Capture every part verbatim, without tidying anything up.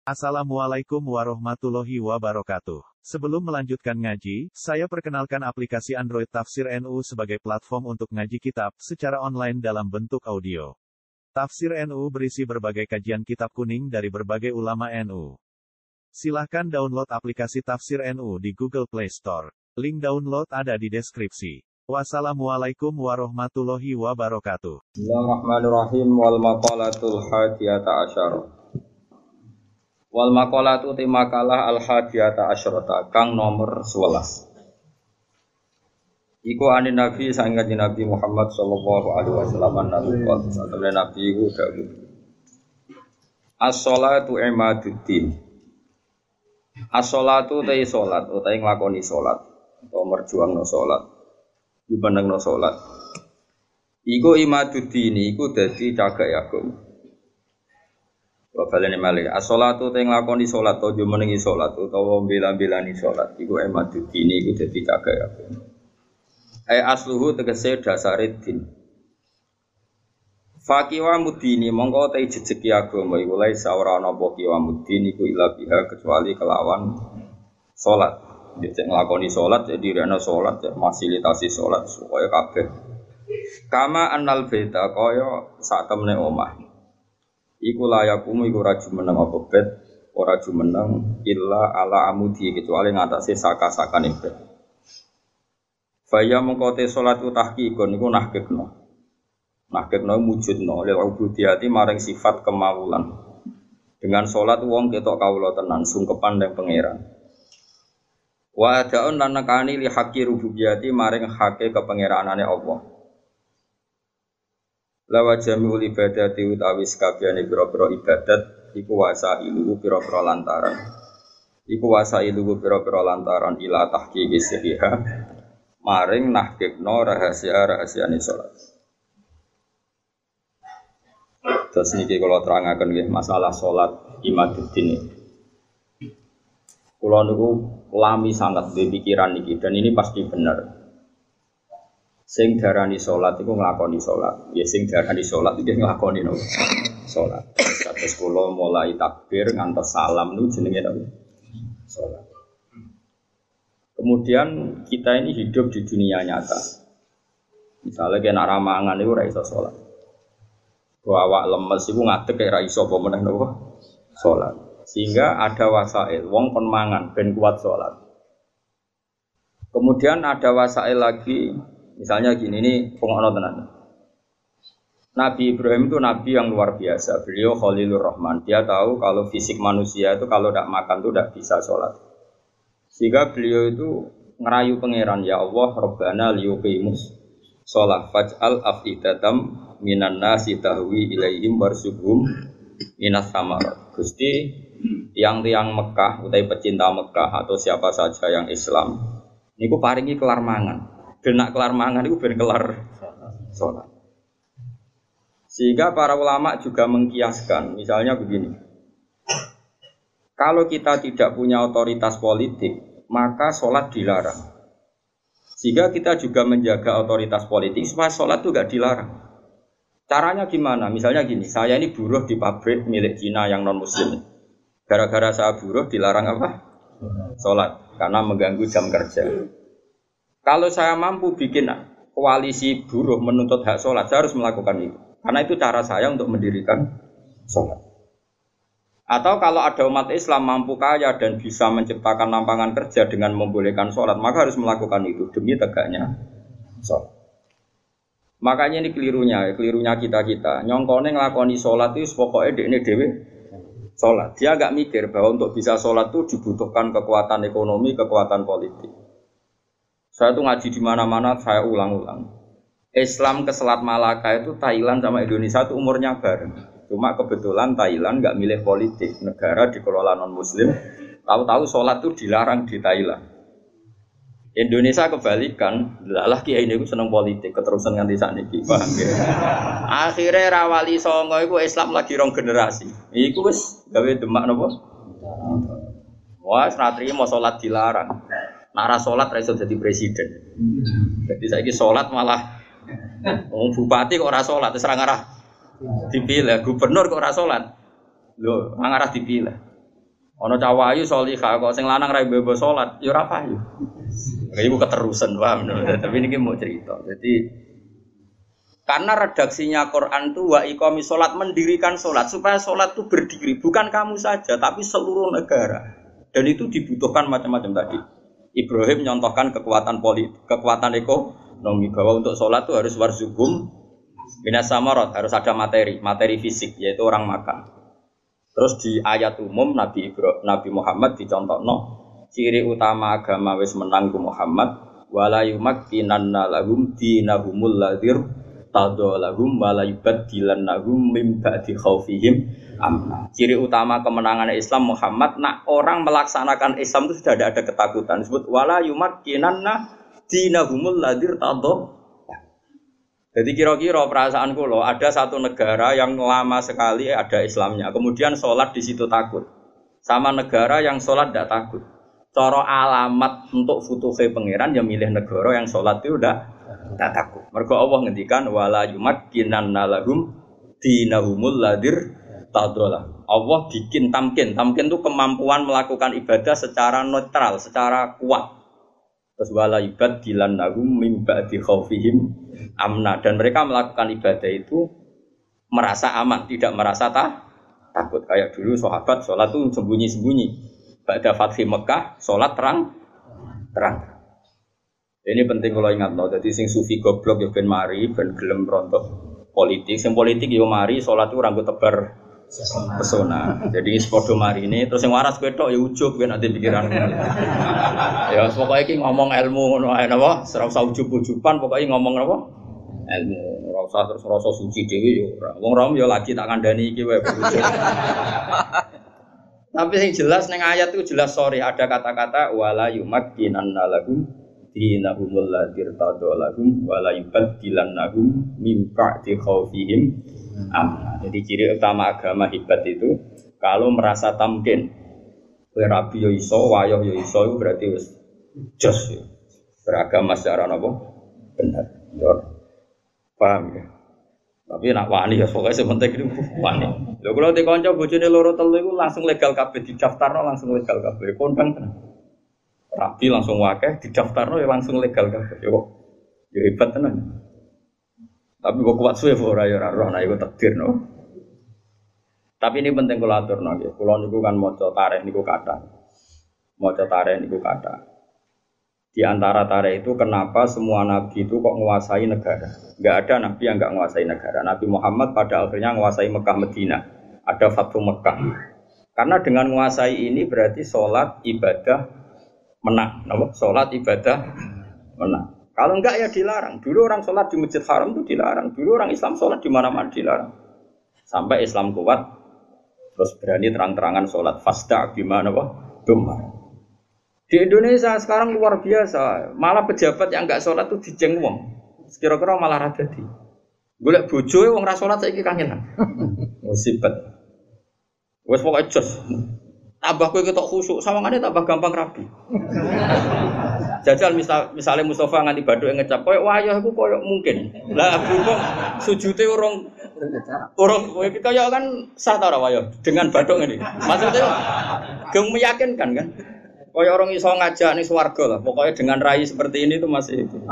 Assalamualaikum warahmatullahi wabarakatuh. Sebelum melanjutkan ngaji, saya perkenalkan aplikasi Android Tafsir N U sebagai platform untuk ngaji kitab secara online dalam bentuk audio. Tafsir N U berisi berbagai kajian kitab kuning dari berbagai ulama N U. Silahkan download aplikasi Tafsir N U di Google Play Store. Link download ada di deskripsi. Wassalamualaikum warahmatullahi wabarakatuh. Bismillahirrahmanirrahim. Wal maqalatul hadiyata asyara. Wal maqalatu ti makalah al hadiyata asyrata kang nomor sebelas. Iku anin Nabi sang kanjeng Nabi Muhammad sallallahu alaihi wasallam nabi qol satune Nabi iku dawuh. As-shalatu imaduddin. As-shalatu te salat utahe nglakoni salat utawa merjuangno salat. Dibenengno salat. Iku imaduddin iku dadi cagak agama. Wa balene malih as-shalatu te nglakoni salat to jumenengi salat utawa mbela-mbelani salat iku imaduddin iku dadi cagak agama. Ai asluhu tegese dasare din. Faqiwa mudini mongko te jejeki agama iku lae ora ana apa kiwa mudini iku ila biha kecuali kelawan salat. Dicek nglakoni salat jadi rene salat fasilitasi salat supaya kabeh. Kama annal baita kaya sak temene omah. Iku layakumu iku ora jumeneng apa bet, ora jumeneng illa ala amudi kecuali ngatasé saka-sakane bet. Faya mongko te salat tahqiqon iku nahqiqno. Nahqiqno mujudno lil ubudiyati maring sifat kemawulan. Dengan salat wong ketok kawula tenan sungkepan ning pangeran. Wa da'un lan nekani li haqqi rububiyati maring hake kepengeranane Allah. Lawa jami'ul ibadati utawi sakabehane pira-pira ibadat iku wasa ilu pira-pira lantaran. Iku wasa ilu pira-pira lantaran ila tahqiqi sihha maring nahqiqno rahasia-rahasiane salat. Terus niki kula terangaken nggih masalah salat imaduddin. Kula niku lami sangat di pikiran niki dan ini pasti benar. Sing darani salat iku nglakoni salat. Ya sing darani salat iki nglakoni no. Salat. Kados kula mulai takbir ngantos salam niku jenenge napa? Salat. Kemudian kita ini hidup di dunia nyata. Misalnya kena ramangan niku ora iso salat. Ku awak lemes iku ngadeg kaya ora iso apa meneh napa? Salat. Sehingga ada wasail wong kon mangan ben kuat salat. Kemudian ada wasail lagi. Misalnya gini, ini pengokno tenan. Nabi Ibrahim itu nabi yang luar biasa. Beliau Khalilur Rahman. Dia tahu kalau fisik manusia itu kalau tidak makan itu tidak bisa sholat. Sehingga beliau itu ngerayu pangeran, ya Allah, Rabbana liyuqimus sholat faj'al afidatam minan nasi tahwi ilaihim warsughum minas samarat. Gusti, tiang-tiang Mekah, utai pecinta Mekah atau siapa saja yang Islam, niku paringi kelar mangan. Genak kelar mangan itu ben kelar sholat. Sehingga para ulama juga mengkiaskan, misalnya begini. Kalau kita tidak punya otoritas politik, maka sholat dilarang. Sehingga kita juga menjaga otoritas politik supaya sholat itu tidak dilarang. Caranya gimana? Misalnya gini, saya ini buruh di pabrik milik Cina yang non-muslim. Gara-gara saya buruh dilarang apa? Sholat, karena mengganggu jam kerja. Kalau saya mampu bikin koalisi buruh menuntut hak sholat, saya harus melakukan itu. Karena itu cara saya untuk mendirikan sholat. Atau kalau ada umat Islam mampu kaya dan bisa menciptakan lapangan kerja dengan membolehkan sholat, maka harus melakukan itu demi tegaknya sholat. Makanya ini kelirunya, kelirunya kita-kita. Nyongkone ngelakoni sholat itu pokoknya dekne dewe sholat. Dia agak mikir bahwa untuk bisa sholat itu dibutuhkan kekuatan ekonomi, kekuatan politik. Saya tuh ngaji di mana-mana, saya ulang-ulang. Islam ke Selat Malaka itu Thailand sama Indonesia itu umurnya bareng. Cuma kebetulan Thailand nggak milih politik, negara dikelola non-Muslim. Tahu-tahu sholat itu dilarang di Thailand. Indonesia kebalikan, lah kiai ini seneng politik, keterusan nganti sakniki, paham ya? Akhirnya rawali songo itu Islam lagi rong generasi. Iku wis gawe demak napa? Wah, senatri mau sholat dilarang. Nara sholat raiso jadi presiden. Jadi saya ini sholat malah oh, bupati kok ora sholat, terus ngarah dipilih. Gubernur kok ora sholat, lo ngarah dipilih. Ana cawayu salihah kok sing lanang ra mbebo salat, ya ora payu. Kayak iku keterusan paham. Tapi niki mau cerita. Jadi karena redaksinya Quran itu wa iqamis salat mendirikan salat supaya salat itu berdiri bukan kamu saja tapi seluruh negara. Dan itu dibutuhkan macam-macam tadi. Ibrahim nyontohkan kekuatan politik, kekuatan ekonomi bahwa untuk salat itu harus warzuqum minas samarat, harus ada materi, materi fisik yaitu orang makan. Terus di ayat umum Nabi Ibrahim, Nabi Muhammad dicontohno ciri utama agama wis menang ku Muhammad wala yumakkinanna lahum dinahumul ladzir tadallahum wala yubaddilannahum min ba'di khaufihim amna. Ciri utama kemenangan Islam Muhammad nak orang melaksanakan Islam itu sudah ada, ada ketakutan. Disebut wala yumakkinanna dinahumul ladzir tadallahum. Jadi kira-kira perasaan kula ada satu negara yang lama sekali ada Islamnya, kemudian sholat di situ takut, sama negara yang sholat tidak takut. Cara alamat untuk futuhe pangeran yang milih negara yang sholat itu udah tidak takut. Mergo Allah ngendikan wala yumakkinanna lahum dinahumul ladzir tadallah. Allah bikin tamkin, tamkin itu kemampuan melakukan ibadah secara netral, secara kuat. Terus wala yubaddilannahum min ba'di khaufihim amna, dan mereka melakukan ibadah itu merasa aman, tidak merasa tak, takut. Kayak dulu sahabat sholat itu sembunyi-sembunyi. Ba'da Fathi Mekah sholat terang terang. Ini penting kalau ingat loh. Jadi sing sufi goblok ya ben mari ben gelem rontok politik. Sing politik yo mari sholat itu ranggo tebar pesona. Jadi sepodo mari ini terus yang waras ketok ya ujub kan nanti pikiran. Ya pokoknya iki ngomong ilmu ngono ae napa, ora usah ujub-ujuban, pokoknya ngomong napa? Ilmu. Ora usah terus rasa suci dhewe ya ora. Wong rom ya lagi tak kandhani iki wae ujub. Tapi yang jelas ning ayat itu jelas sorry ada kata-kata wala yumakkinanna lahum dinahumul ladzir tadallahum wala yubaddilannahum min ba'di khaufihim amna. Jadi ciri utama agama hebat itu kalau merasa tamkin, rabi yo iso, wayoh yo iso itu berarti wis jos ya. Beragama secara apa? Benar. Ya. Paham ya? Tapi nak wani ya pokoknya sementing itu wani. Lho kalau di kanca bojone loro telu iku langsung legal kabeh didaftarno langsung legal kabeh. Kondang tenan. Rabi langsung wakeh didaftarno ya langsung legal kabeh. Yo yo hebat tenan. Tapi kok kuat suwe ora ya ora roh nek iku takdir no. Tapi ini penting kula aturno nggih. Kula niku kan maca tarikh niku kathah. Maca tarikh niku kathah. Di antara tarikh itu kenapa semua nabi itu kok menguasai negara? Enggak ada nabi yang enggak menguasai negara. Nabi Muhammad pada akhirnya menguasai Mekah Madinah. Ada Fathu Mekah. Karena dengan menguasai ini berarti sholat ibadah menang. Napa? Sholat ibadah menang. Kalau enggak ya dilarang. Dulu orang sholat di Masjid Haram itu dilarang. Dulu orang Islam sholat di mana-mana dilarang. Sampai Islam kuat, terus berani terang-terangan sholat fasda gimana wah, domar. Di Indonesia sekarang luar biasa. Malah pejabat yang enggak sholat itu dijeng wong. Kira-kira malah rada di. Golek bojoe wong ra sholat saiki kangenan. Musibet. Wes pokoke jos. Tambah kowe ketok khusuk, sawangane tambah gampang rabi. Jajal misal misalnya Mustafa nganti baduk ngecap koyo wayah iku koyo mungkin. Lah berhubung sujute urung urung kowe kaya kan sah ta ora wayah dengan baduk ngene. Maksudnya geng meyakinkan kan. Koyo orang iso ngajak ning swarga lah. Pokoknya dengan rai seperti ini itu masih itu.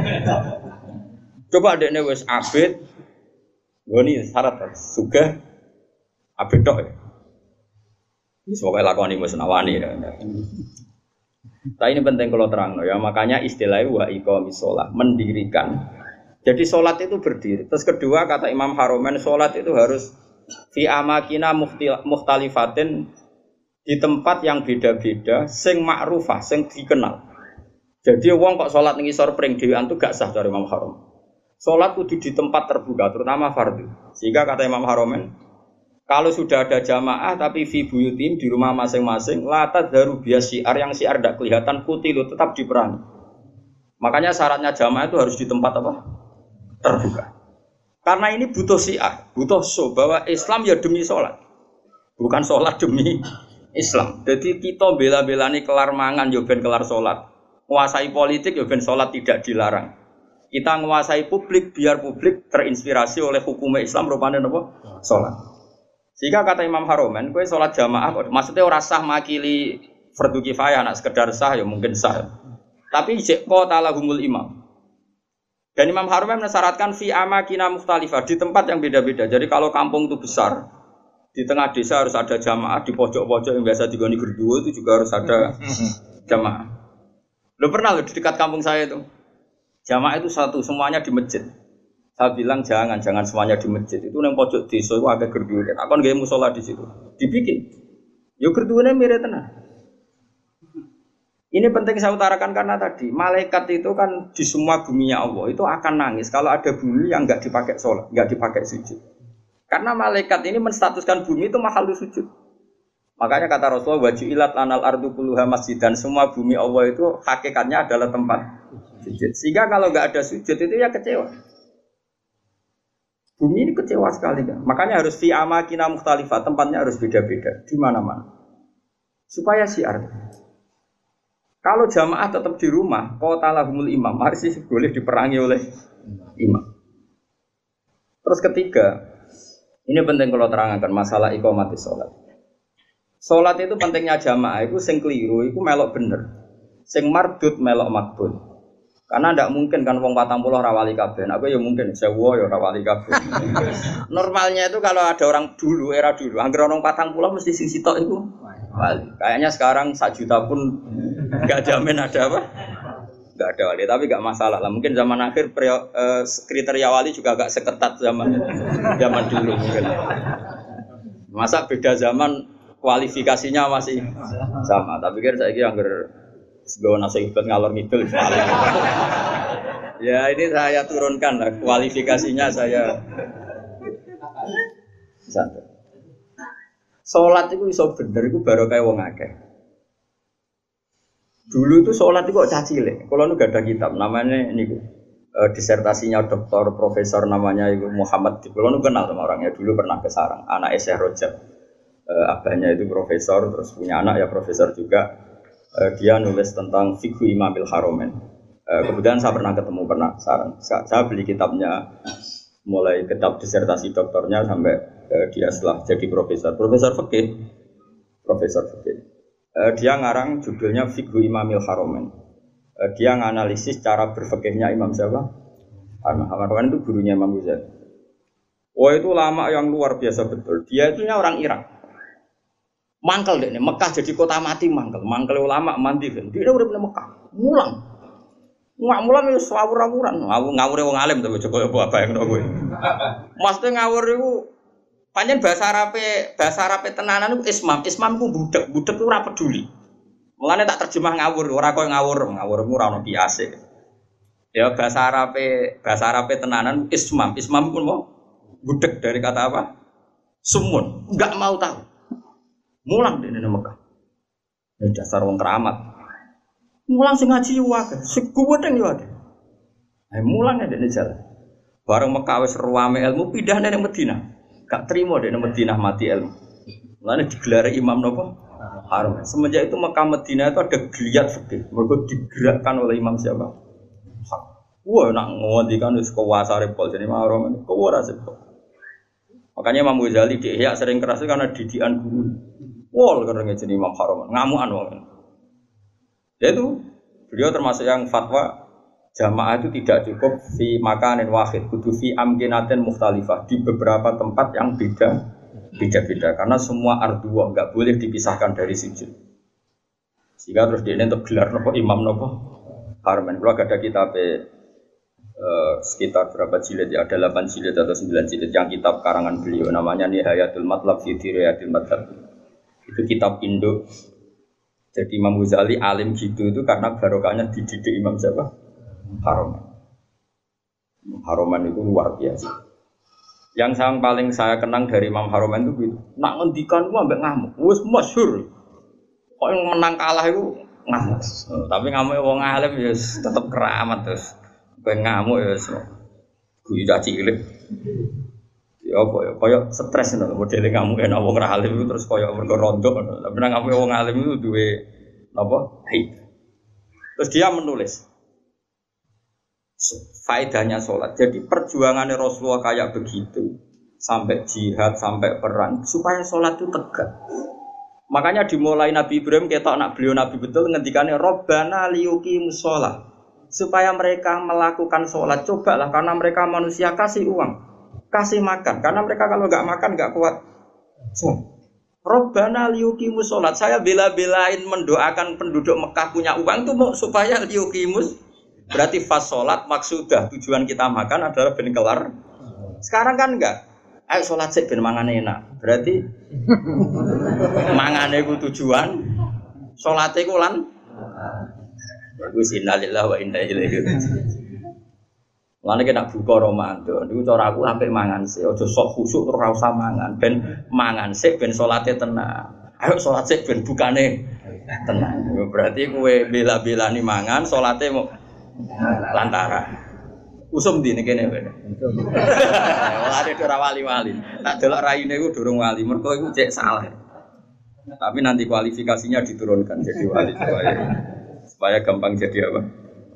Coba dekne wis abid. Ngoni syarat sugih abid tok ya. Wis pokoke lakoni wis nawani ya. Nah ini penting kalau terang ya, makanya istilahnya wa iqamis shalah, mendirikan. Jadi sholat itu berdiri. Terus kedua kata Imam Haromen, sholat itu harus fi amakina mukhtalifatin, di tempat yang beda-beda, sing ma'rufah, sing dikenal. Jadi wong kok sholat ning isor pring dhewean itu gak sah dari Imam Harom. Sholat kudu di tempat terbuka, terutama fardhu. Sehingga kata Imam Haromen, kalau sudah ada jamaah tapi fi buyutim di rumah masing-masing, la tadharu bias syiar yang syiar tidak kelihatan putih lo tetap diperangi. Makanya syaratnya jamaah itu harus di tempat apa? Terbuka. Karena ini butuh syiar, butuh show bahwa Islam ya demi sholat, bukan sholat demi Islam. Jadi kita bela-belani kelar mangan ya ben kelar sholat, menguasai politik ya ben sholat tidak dilarang. Kita menguasai publik biar publik terinspirasi oleh hukum Islam rupanya apa? Sholat. Sehingga kata Imam Haromen, kowe sholat jamaah kok maksudnya ora sah makili fardu kifayah, nak sekedar sah ya mungkin sah. Tapi jek qala lahumul imam. Dan Imam Haromen mensyaratkan fi amakina mukhtalifah, di tempat yang beda-beda. Jadi kalau kampung itu besar, di tengah desa harus ada jamaah, di pojok-pojok yang biasa digoni gerduwo itu juga harus ada jamaah. Lo pernah lo di dekat kampung saya itu, jamaah itu satu, semuanya di masjid. Saya bilang jangan, jangan semuanya di masjid. Itu yang pojok desa itu agak gerduwo. Aku nggak musola di situ, dibikin. Yo gerduwonya mirip tenang. Ini penting saya utarakan karena tadi malaikat itu kan di semua buminya Allah itu akan nangis kalau ada bumi yang nggak dipakai sholat, nggak dipakai sujud. Karena malaikat ini menstatuskan bumi itu makhluk sujud. Makanya kata Rasulullah wajulat lanal ardu kulluha masjid, dan semua bumi Allah itu hakikatnya adalah tempat sujud. Sehingga kalau nggak ada sujud itu ya kecewa. Bumi ini kecewa sekali kan. Makanya harus fi amakina mukhtalifah, tempatnya harus beda-beda di mana-mana. Supaya syiar. Kalau jamaah tetap di rumah, qatalahumul imam, harus boleh diperangi oleh imam. Terus ketiga, ini penting kalau terangkan masalah iqamatis sholat. Sholat itu pentingnya jamaah, itu sing keliru, itu melok bener. Sing mardud melok makbul. Karena tidak mungkin kan wong patang puluh rawali kabeh. Aku ya mungkin sewa ya rawali kabeh. Normalnya itu kalau ada orang dulu, era dulu, angger orang patang puluh mesti sing sitok itu wali. Kayaknya sekarang sak juta pun enggak jamin ada apa? Enggak ada wali, tapi enggak masalah lah. Mungkin zaman akhir prio, eh, kriteria wali juga agak seketat zaman zaman dulu mungkin. Masa beda zaman kualifikasinya masih sama. Tapi kan saya kira angger sebawa nasi ibad ngalor ngidul. Ya ini saya turunkan lah kualifikasinya saya. Santai. Sholat itu iso bener itu baru kayak wong akeh. Dulu itu sholat itu kok cacile. Kalau nu gak ada kitab namanya ini uh, disertasinya doktor profesor namanya itu Muhammad. Kalau nu kenal sama orangnya dulu pernah ke Sarang. Anak Syekh Rojab. Uh, abahnya itu profesor terus punya anak ya profesor juga. Uh, dia nulis tentang fikhu Imamil Haromen. Uh, kemudian saya pernah ketemu pernah Sarang. Saya, saya beli kitabnya mulai kitab disertasi doktornya sampai uh, dia setelah jadi profesor. Profesor fikih. Profesor fikih. Uh, dia ngarang judulnya Fikhu Imamil Haromen. Uh, dia nganalisis cara berfikihnya Imam siapa? Haromen itu gurunya Imam Ghazali. Wah itu lama yang luar biasa betul. Dia itu orang Irak. Mangkel deh, Mekah jadi kota mati mangkel. Mangkel ulama mandi kan. Dia udah pernah Mekah. Mulang. Nggak mulang itu ngawur-ngawuran. Ngawur ngawure wong alim tapi coba apa yang kowe. Maksudnya ngawur itu pancen bahasa Arabe, bahasa Arabe tenanan itu ismam. Ismam ku budak, budak itu ora peduli. Mulane tak terjemah ngawur, ora koyo ngawur, ngawurmu ora ono kiase. Ya bahasa Arabe, bahasa Arabe tenanan ismam. Ismam pun mau budak dari kata apa? Sumun, enggak mau tahu. Mulang di Mekah. Ya dasar wong keramat. Mulang sing ngaji wae, sing kuweteng yo akeh. Ae mulang ya dene jalan. Bareng Mekah wis ruwame ilmu pindah nang Madinah. Gak trimo dene Madinah mati ilmu. Mulane digelar imam napa? Haram. Semenjak itu Mekah Madinah itu ada geliat fikih. Mergo digerakkan oleh imam siapa? Wah, nak ngondikan wis kuwasare pol jenenge haram. Kuwara sepol. Makanya Imam Ghazali di Ihya sering keras karena didikan guru. Wol karena jadi Imam Haromen, ngamuan wong. Yaitu beliau termasuk yang fatwa jamaah itu tidak cukup fi makanin wahid, kudu fi amkinatin mukhtalifah di beberapa tempat yang beda beda-beda karena semua ardua enggak boleh dipisahkan dari sujud. Sehingga terus dia untuk gelar nopo imam nopo Haromen. Kalau ada kitab eh, sekitar berapa jilid ya, ada delapan jilid atau sembilan jilid yang kitab karangan beliau namanya Nihayatul Matlab fi Dirayatil Madhab. Itu kitab Indo. Jadi Imam Ghazali alim gitu itu karena barokahnya dididik Imam siapa? Haromen. Haromen itu luar biasa. Yang yang paling saya kenang dari Imam Haromen itu gitu. Nak ngendikan gua ambek ngamuk. Wis masyhur. Kok yang menang kalah itu ngamuk. Tapi ngamuk wong alim ya tetep keramat terus. Kowe ngamuk ya wis. Guyu cilik. Ya apa ya, kaya stres ngono, modele ngamuk enak wong ra alim terus kaya mergo rondo. Tapi nang ngamuk wong alim itu duwe napa? Haid. Terus dia menulis faedahnya sholat. Jadi perjuangannya Rasulullah kayak begitu sampai jihad, sampai perang, supaya sholat itu tegak. Makanya dimulai Nabi Ibrahim, kita nak beliau Nabi betul, ngendikannya Rabbana liyuqimus sholat, supaya mereka melakukan sholat. Cobalah, karena mereka manusia, kasih uang, kasih makan, karena mereka kalau nggak makan nggak kuat. So, Rabbana liyuqimus sholat, saya bela-belain mendoakan penduduk Mekah punya uang itu mau supaya liyuqimus, berarti fas sholat maksudah, tujuan kita makan adalah ben kelar. Sekarang kan enggak. Ayo sholat sik ben mangane enak. Berarti mangane ku tujuan, sholate ku lan wis innalillahi wa inna ilaihi raji'un. Lan nek nak buka Ramadan, niku cara aku apik mangan sik, aja sok khusuk terus ora usah mangan, ben mangan sik ben sholate tenang. Ayo sholat sik ben bukane tenang. Berarti kowe bela-belani mangan, sholate mau lantara. Usum di ini kene kene. Wah ada ora wali-wali. Tak delok raine iku durung wali. Mergo iku cek salah. Tapi nanti kualifikasinya diturunkan jadi wali supaya supaya gampang jadi apa?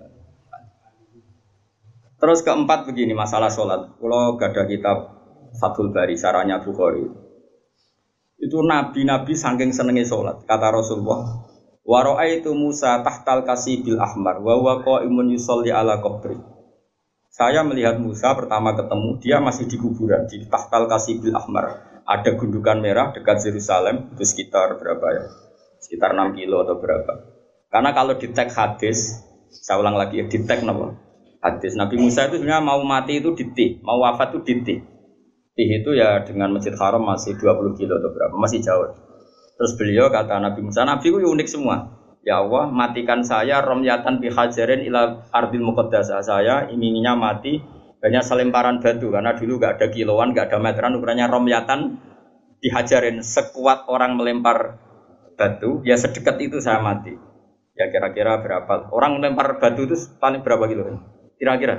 Terus keempat begini masalah sholat. Kalau gada kitab Fathul Bari saranya Bukhari. Itu nabi-nabi saking senenge sholat. Kata Rasulullah, wa ra'aitu Musa tahtal kasibil ahmar wa huwa qa'imun yusolli ala qabri. Saya melihat Musa pertama ketemu, dia masih di kuburan, di Tahtal Kasibil Ahmar. Ada gundukan merah dekat Yerusalem, itu sekitar berapa ya? Sekitar enam kilo atau berapa. Karena kalau di tag hadis, saya ulang lagi ya, di tag apa? Hadis. Nabi Musa itu sebenarnya mau mati itu di Tih, mau wafat itu di Tih. Tih itu ya dengan Masjid Haram masih dua puluh kilo atau berapa, masih jauh. Terus beliau kata Nabi Musa, Nabi itu unik semua. Ya Allah, matikan saya romyatan bihajarin ila ardil muqaddasah. Saya inginnya mati hanya selemparan batu karena dulu enggak ada kiloan, enggak ada meteran, ukurannya romyatan bihajarin, sekuat orang melempar batu, ya sedekat itu saya mati. Ya kira-kira berapa? Orang melempar batu itu paling berapa kilo? Kira-kira.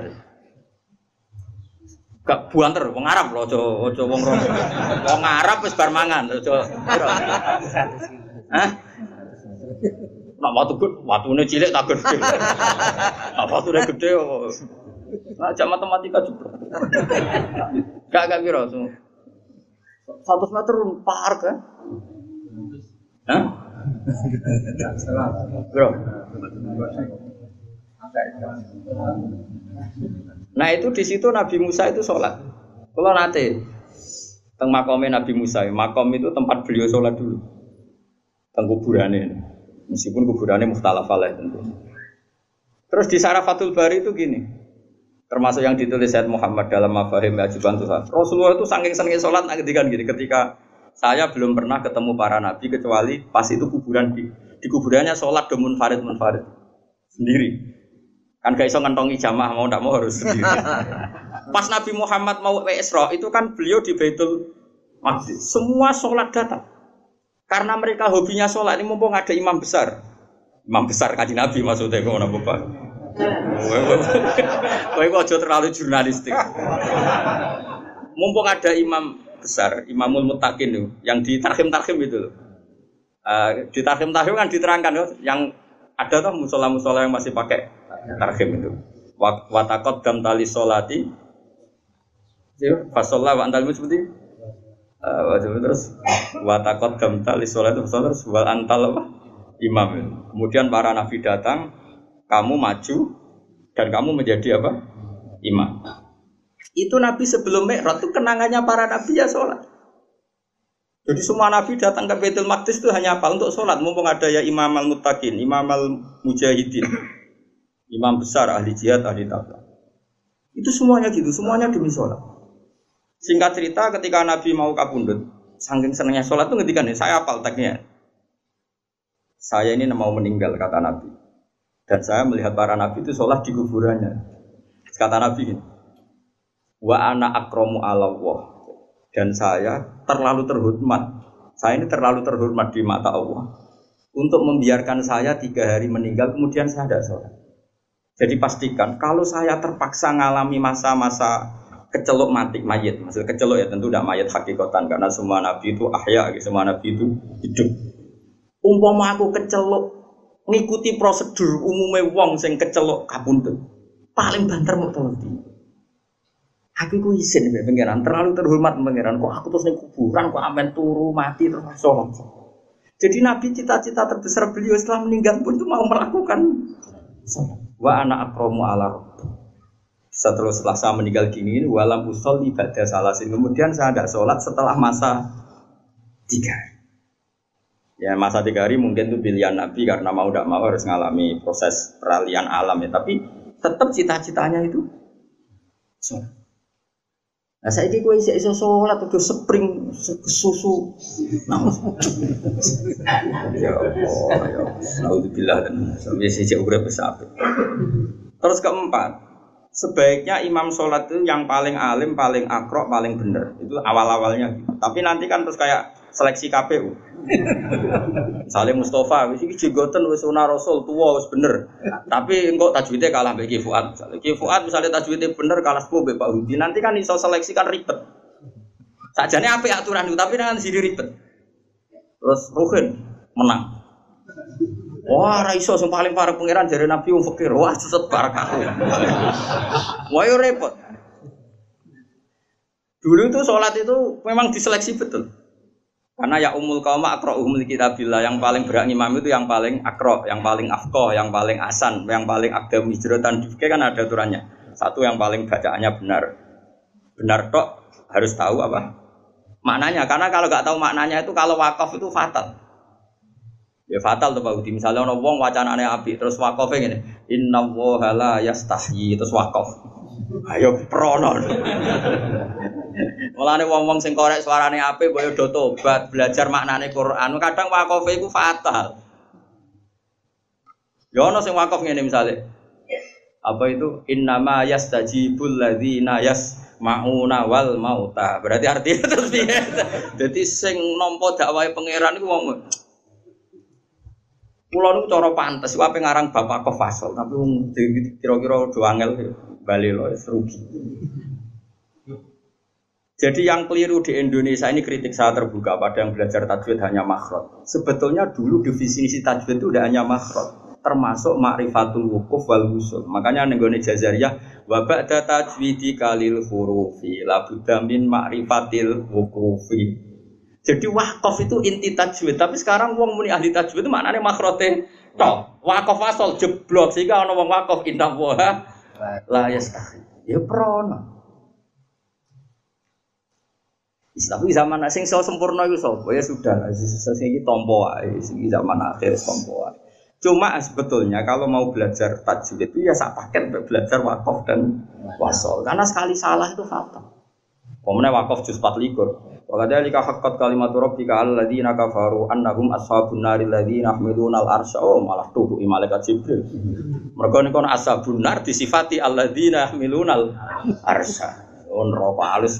Gak buanter, wong Arab lho, aja aja wong rom. Wong Arab wis bar mangan, aja. Hah? Nak watu gede, watune cilik tak gede. Nak watune gede kok. Nah, jam matematika juga. Gak gak kira so. seratus meter par kan? Hah? Bro. Nah, itu di situ Nabi Musa itu sholat. Kalau nanti teng makomnya Nabi Musa, makom itu tempat beliau sholat dulu. Teng kuburannya. Meskipun kuburannya mukhtalaf alaih tentu. Terus di Syarah Fathul Bari itu gini, termasuk yang ditulis Sayyid Muhammad dalam Mafahim Ajiban Tuhan. Rasulullah itu saking senengnya sholat ngedikan gini, ketika saya belum pernah ketemu para nabi kecuali pas itu kuburan di, di kuburannya sholat domun farid munfarid sendiri. Kan gak iso ngentongi jamaah mau ndak mau harus sendiri. Pas Nabi Muhammad mau Isra itu kan beliau di Baitul Maqdis. Semua sholat datang. Karena mereka hobinya sholat ini mumpung ada imam besar, imam besar kaji Nabi maksudnya kau nak bapak. Kau kau jauh terlalu jurnalistik. Mumpung ada imam besar, Imamul Muttaqin itu, yang di tarhim tarhim itu, uh, di tarhim tarhim kan diterangkan loh, yang ada tuh musola musola yang masih pakai tarhim itu. Watakot gam tali sholati, fasolah wa antal seperti. Uh, terus watakot gamtal isolat terus wal antal apa imam. Kemudian para nabi datang, kamu maju dan kamu menjadi apa imam. Itu nabi sebelum Mi'raj itu kenangannya para nabi ya sholat. Jadi semua nabi datang ke Baitul Maqdis itu hanya apa untuk sholat. Mumpung ada ya Imam al-Muttaqin, Imam al-Mujahidin, imam besar ahli jihad ahli taqwa. Itu semuanya gitu, semuanya demi sholat. Singkat cerita ketika Nabi mau kapundhut, saking senangnya sholat itu ngendikan, saya hafal teksnya. Saya ini mau meninggal kata Nabi. Dan saya melihat para nabi itu sholat di kuburannya. Kata Nabi ini, wa ana akramu ala Allah. Dan saya terlalu terhormat. Saya ini terlalu terhormat di mata Allah untuk membiarkan saya tiga hari meninggal kemudian saya tidak sholat. Jadi pastikan kalau saya terpaksa mengalami masa-masa kecelok mati mayit, maksud kecelok ya tentu tidak mayit hakikatan karena semua nabi itu ahya, semua nabi itu hidup. Umpama aku kecelok ngikuti prosedur umumnya wong sing kecelok kapundhut, paling banter mau tolong. Aku ku isin mbek pangeran, terlalu terhormat pangeran. Kok aku terus ning kuburan kok amen turu mati terus sholat. Jadi Nabi cita-cita terbesar beliau setelah meninggal pun itu mau melakukan sholat. Wa ana akramu ala rabbi. Setelah, setelah saya meninggal gini, walam usolli ba'da salasin. Kemudian saya tidak sholat setelah masa tiga hari. Ya masa tiga hari mungkin itu pilihan Nabi karena mau tidak mau harus mengalami proses peralihan alam ya. Tapi tetap cita-citanya itu sholat. Nah saya ini gue isi iso sholat udah spring susu, nah, ya Allah, ya Alhamdulillah dan sampai sejak udah besar. Terus keempat, sebaiknya imam sholat itu yang paling alim, paling akrok, paling benar itu awal-awalnya. Tapi nanti kan terus kayak seleksi K P U. Misalnya Mustafa, wis iki jenggoten wis sunah Rasul tua wis bener. Tapi engko tajwidnya kalah mbek Ki Fuad. Misalnya Ki Fuad misalnya tajwidnya bener kalah sepuh mbek Pak Hudi. Nanti kan iso seleksi kan ribet. Sajane apik aturan itu tapi nanti jadi ribet. Terus Ruhin menang. Wah, ra iso sing paling parah pangeran jare Nabi wong fakir. Wah, suset barakah. Wah, yo repot. Dulu itu sholat itu memang diseleksi betul. Karena ya umul qauma aqra'uhum likitabillah, yang paling berak imam itu yang paling akra, yang paling afqah, yang paling asan, yang paling aqdam hijratan di fikih kan ada aturannya. Satu yang paling bacaannya benar. Benar tok harus tahu apa maknanya. Karena kalau enggak tahu maknanya itu kalau wakaf itu fatal. Ya fatal tuh Pak Udi. Misalnya ana wong wacanane apik terus waqafe ngene. Innallaha la yastahyi terus waqaf. Ayo prono. Mulane wong-wong sing korek suarane apik boyo do tobat, belajar maknane Quran. Kadang wakofe iku fatal. Ya ono sing wakof ngene misale. Apa itu innama yastajibul ladzina yasmauna wal mauta. Berarti artinya terus piye? Dadi sing nampa dakwahe pangeran iku wong kula niku cara pantes wae ngarang bapak Kofasol, tapi wong kira-kira do angel bali lho rugi. Jadi yang keliru di Indonesia ini kritik saya terbuka pada yang belajar tajwid hanya makhraj. Sebetulnya dulu definisi tajwid itu udah hanya makhraj, termasuk ma'rifatul wukuf wal wusul. Makanya nenggone Jazariyah wa ba'da tajwidi kalil hurufi la budda min ma'rifatil wukufi. Jadi waqaf itu inti tajwid, tapi sekarang wong muni ahli tajwid itu maknane makhraje tok. Waqaf asal jeblok sehingga ana wong waqaf indah wa la yastahi. Ya prono. Tapi zaman sing iso sempurna iku sapa? Ya sudah, sing iki tampa wae, sing zaman akhir tampa wae. Cuma sebetulnya kalau mau belajar tajwid itu ya sak paket belajar waqaf dan wasol. Karena sekali salah itu fatal. Pemene waqaf juz empat puluh lima. Wa kadzalika haqqat kalimatu rabbika alladzina kafaru annahum ashabun naril ladzina yahmiluna al-arsya. Oh, malah tuh malaikat Jibril. Mergo niku ashabun nar disifati alladzina yahmiluna al-arsya. On ropa halus.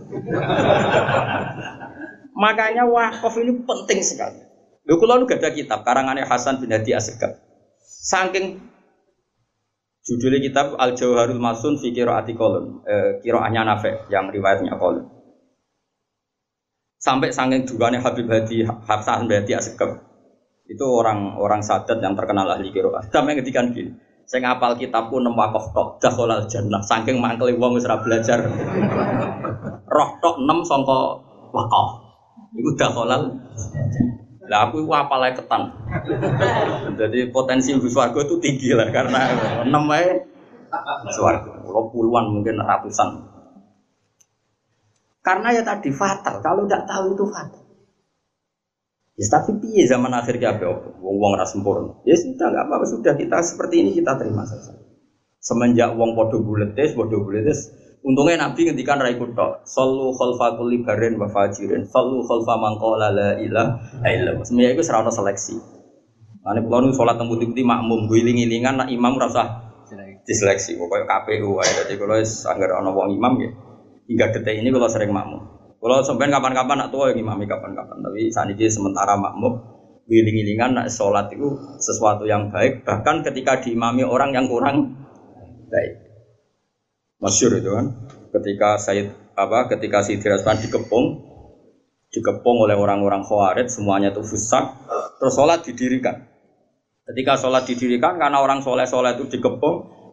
Makanya wakaf ini penting sekali. Lho kula nu gadah kitab karangannya Hasan bin Hadi Asegaf. Saking judulnya kitab Al Jauharul Masun fi Qiraati Qalun, eh, qiraahnya Nafi' yang riwayatnya Qalun. Sampai saking dugane Habib Hadi Hasan bin Hadi Asegaf. Itu orang-orang sadat yang terkenal ahli qiraah. Sampai ngedikan gini. Saya ngapal kitabku nem wakaf tok dakhalal jannah saking mangkele wong wis ora belajar roh tok enam sangka wakaf iku dakhalal lah aku iku apal ae ketan jadi potensi mlebu swarga itu tinggi lah karena enam ae swarga puluhan mungkin ratusan karena ya tadi fatal kalau tidak tahu itu fatal. Ya tapi piye zaman akhir ki ape opo wong-wong ora sempurna. Ya sudah enggak apa-apa sudah kita seperti ini kita terima saja. Semenjak wong padha buletes, padha buletes, untungnya Nabi ngendikan ra ikut tok. Sallu khalfa kulli barin wa fajirin. Sallu khalfa man qala la ilaha illallah. Semuanya iku ora ono seleksi. Mane kula nu salat teng putih-putih makmum guling-gilingan nak imam ora usah diseleksi. Pokoke K P U wae. Dadi kula wis anggere ana wong imam ya. Hingga detik ini kula sering makmum. Kalau sampean kapan-kapan nak tua ya ngimami kapan-kapan. Tapi saat ini sementara makmum giling-gilingan nak sholat itu sesuatu yang baik. Bahkan ketika diimami orang yang kurang baik. Masyhur itu kan. Ketika Said apa? Ketika Sayyidina Utsman dikepung, dikepung oleh orang-orang Khawarij, semuanya itu fusak. Terus sholat didirikan. Ketika sholat didirikan karena orang soleh-soleh itu dikepung,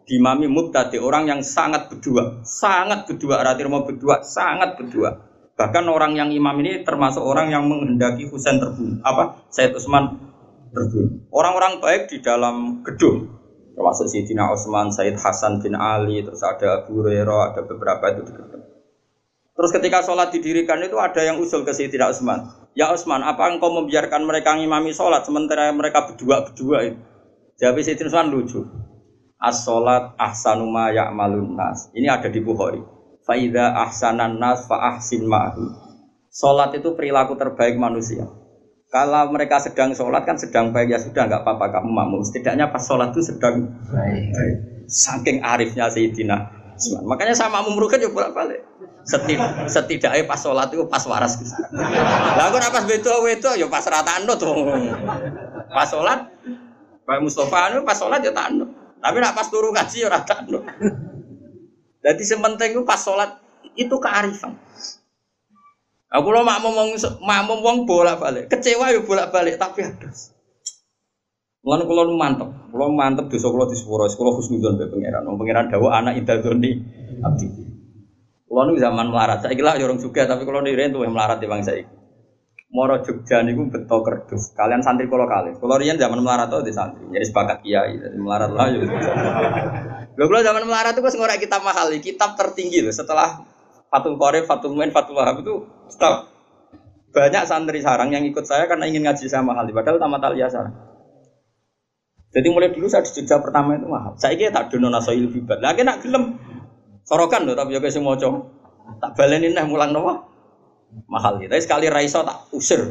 Dimami mubtadi, orang yang sangat berdua, sangat berdua, arti mau berdua, sangat berdua. Bahkan orang yang imam ini termasuk orang yang menghendaki Husain terbunuh. Apa? Sayyid Utsman terbunuh. Orang-orang baik di dalam gedung, termasuk Sayyidina Utsman, Sayyid Hasan bin Ali, terus ada Abu Hurairah, ada beberapa itu di gedung. Terus ketika sholat didirikan itu ada yang usul ke Sayyidina Utsman. Ya Utsman, apa engkau membiarkan mereka ngimami sholat sementara mereka berdua-berdua itu? Jawab Sayyidina Utsman lucu. As-sholat ahsanu ma ya'malun nas. Ini ada di Bukhari. Fa idza ahsanan nas fa ahsin ma'hu. Sholat itu perilaku terbaik manusia. Kalau mereka sedang sholat kan sedang baik, ya sudah enggak apa-apa kamu makmum. Setidaknya pas sholat itu sedang baik. Saking arifnya Sayyidina Utsman. Makanya sama makmum rugen ya bolak-balik. Setid- setidaknya pas sholat itu pas waras. Lah kok pas beto-beto ya pas rata anut. Pas sholat Pak Mustafa itu pas sholat ya tanut. Tapi nak pas turu ngaji ya ora tanut. Jadi sementing itu pas sholat itu kearifan. Aku lo makmum wong makmum wong bolak-balik, kecewa ya bolak-balik tapi adas. Mulane kula nu mantep, kula mantep dosa kula di sepuro, kula husnudzon be pangeran. Wong pangeran dawuh anak idadzoni abdi. Kula nu zaman melarat, saiki lah ya urung juga tapi kula niren tuwih melarat timbang saiki. Moro Jogja niku beto kerdus. Kalian santri kula kalih. Kula riyen zaman melarat to di santri. Jadi sepakat kiai, jadi melarat lah yo. Lha kula zaman melarat itu wis ngorek kitab mahal, kitab tertinggi loh setelah Fathul Qorib, Fathul Muin, Fathul Wahab itu stop. Banyak santri sarang yang ikut saya karena ingin ngaji sama mahal, padahal tamat aliyah sarang. Jadi mulai dulu saya di Jogja pertama itu mahal. Saiki tak dono nasoil bibat. Lah nek gelem sorokan lho tapi yo sing maca. Tak baleni neh mulang napa? Mahal gitu. Tapi sekali raiso tak usir.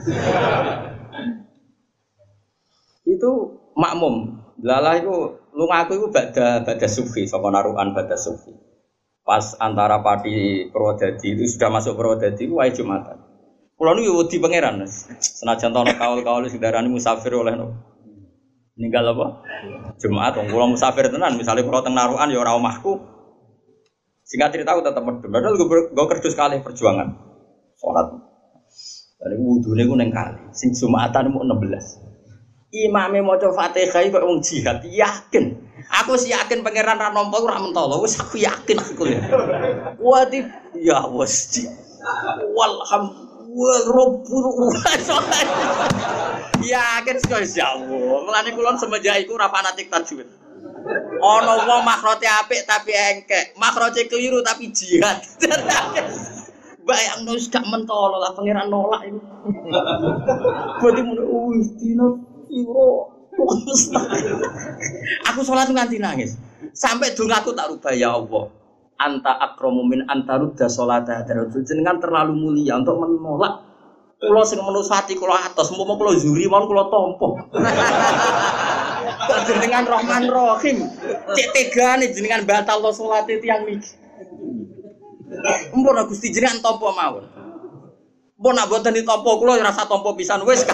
Itu makmum. Lalah itu lu ngaku itu bada bada sufi, saka narukan bada sufi. Pas antara Pati Purwodadi itu sudah masuk Purwodadi itu wae Jumatan. Kulo niku wedi pangeran. Senajan tono kaul-kaul sing darani musafir oleh no. Ninggal apa? Jumat wong kula musafir tenan, misale kula teng narukan ya ora omahku. Singkat cerita aku tetep medhun. Padahal gue kerdus kalih perjuangan. Sholat, dari wudhunya gue neng kali, sing Jumatan mau enam belas. Imamnya mau coba Fatihah kok wong jihad, yakin. Aku sih yakin pangeran Ranompo ora mentolo, wis aku yakin aku ya. Wadi ya wes, walhamdulillah robbul yakin sekali jauh. Melani kulon semenjak iku ora fanatik tajwid. Ono wong makrote apik tapi engkek, makrote keliru tapi jihad. Bayang nus gak mentolo lah pangeran nolak itu. Berarti mulai wis dino iro. Aku sholat nganti nangis. Sampai dongaku tak rubah ya Allah. Anta akramu min anta rudda sholata darajul. Jenengan terlalu mulia untuk menolak. Kula sing menusati kula atos, umpama kula zuri mawon kula tampa. Jenengan Rahman Rahim. Cek tegane jenengan batal salat tiyang niki. Mpun Gusti jenengan tampa mawon. Mpun nak boten ditampa kula ora rasa tampa pisan wis.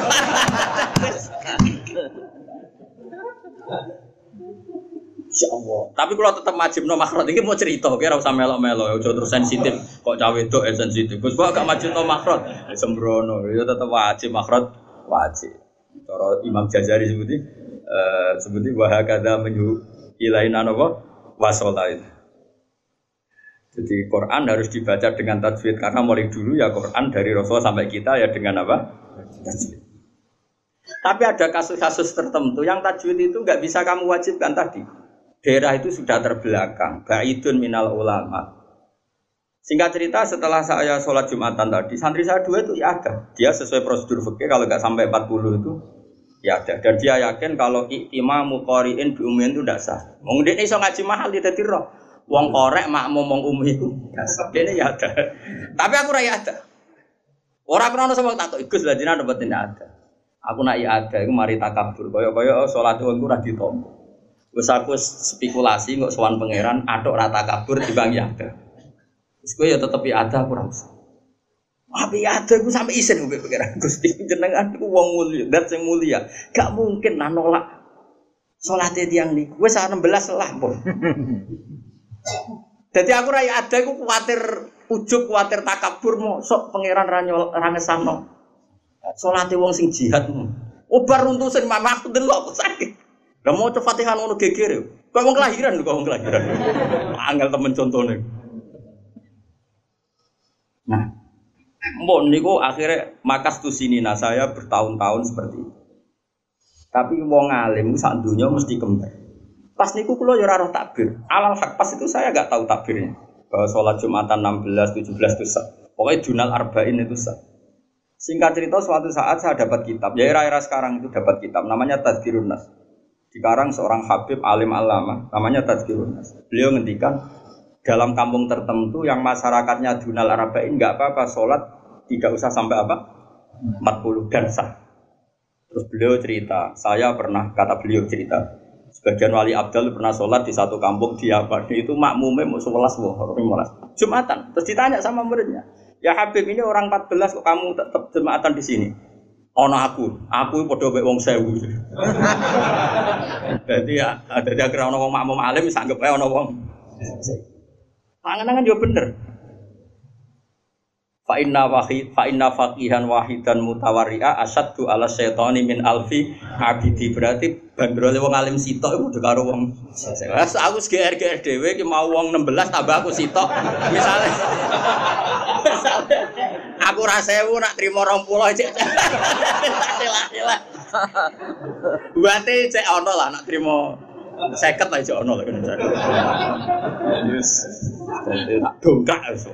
Insyaallah. Tapi kula tetep majibno makhraj iki mau cerita, kira usah melok-melok, aja terus sensitif. Kok cah wedok e sensitif. Gus kok gak majibno makhraj. Sembrono, ya tetep wajib makhraj, wajib. Cara Imam Jazari sebuti eh sebuti wa hakadha menyu ilaina napa wasolain. Jadi Quran harus dibaca dengan tajwid karena mulai dulu ya Quran dari Rasul sampai kita ya dengan apa? Tajwid. Tapi ada kasus-kasus tertentu yang tajwid itu nggak bisa kamu wajibkan tadi. Daerah itu sudah terbelakang, ba'idun minal ulama. Singkat cerita setelah saya sholat Jumatan tadi, santri saya dua itu ya ada. Dia sesuai prosedur fikih kalau nggak sampai empat puluh itu ya ada. Dan dia yakin kalau imamu qari'in bi ummin itu tidak sah. Wong dene iso ngaji mahal dia dadi roh. Wong korek makmum wong ummi iku. Dene ya ada. Tapi aku ora ya ada. Ora krono sama tak Gus lha jenengan mboten ada. Aku nak ya ada iku mari takabur. Kaya-kaya salat wong ora ditampa. Wis aku spekulasi kok sowan pangeran atok ra takabur dibang ya ada. Wis kowe ya tetep ya ada aku ora usah. Tapi ada aku sampai isen mbek pangeran Gusti jenengan iku wong mulia, dat sing mulia. Gak mungkin lah nolak salate tiyang niku. Wis enam belas lah, Pun. Jadi aku rai ada, aku khawatir ujub, khawatir takabur, mosok pangeran ranyol rangesano. Salate wong sing jihad. Obar runtusin mama aku delok aku sakit. Lah mau coba Fatihah ngono geger. Kok wong kelahiran lho, kok wong kelahiran. Angel temen contone. Nah, mbok niku akhirnya makas tu sini nah saya bertahun-tahun seperti itu. Tapi wong alim sak dunya mesti kembar. Pas niku kula ya ora roh takbir. Alal hak pas itu saya enggak tahu takbirnya. Bahwa sholat Jumatan enam belas, tujuh belas itu sah. Pokoknya Dunal Arba'in itu sah. Singkat cerita suatu saat saya dapat kitab. Ya era-era sekarang itu dapat kitab. Namanya Tadhkirun Nas. Dikarang seorang Habib alim alama. Namanya Tadhkirun Nas. Beliau ngendikan dalam kampung tertentu yang masyarakatnya Dunal Arba'in enggak apa-apa sholat tidak usah sampai apa? empat puluh dan sah. Terus beliau cerita. Saya pernah, kata beliau cerita. Sebagian wali abdal pernah sholat di satu kampung di apa itu makmumnya mau sebelas Jumatan. Terus ditanya sama muridnya, ya Habib ini orang empat belas kok kamu tetap Jumatan di sini? Ono aku, aku podo mek wong sewu. Jadi ya ada dia kira ono wong makmum alim sanggep ae ono wong. Panganan kan juga bener. Fa inna wahid fa inna faqihan wahidan mutawarri'a asyaddu ala syaitani min alfi abidi. Berarti bandrole wong alim sitok iku padha karo wong wes aku G R G R dhewe ki mau wong enam belas tambah aku sitok misale misale aku ra sewu nak trimo dua puluh cek celah-celah buate cek ono lah nak trimo seket aja ono lho kan yes tak dongkak wis.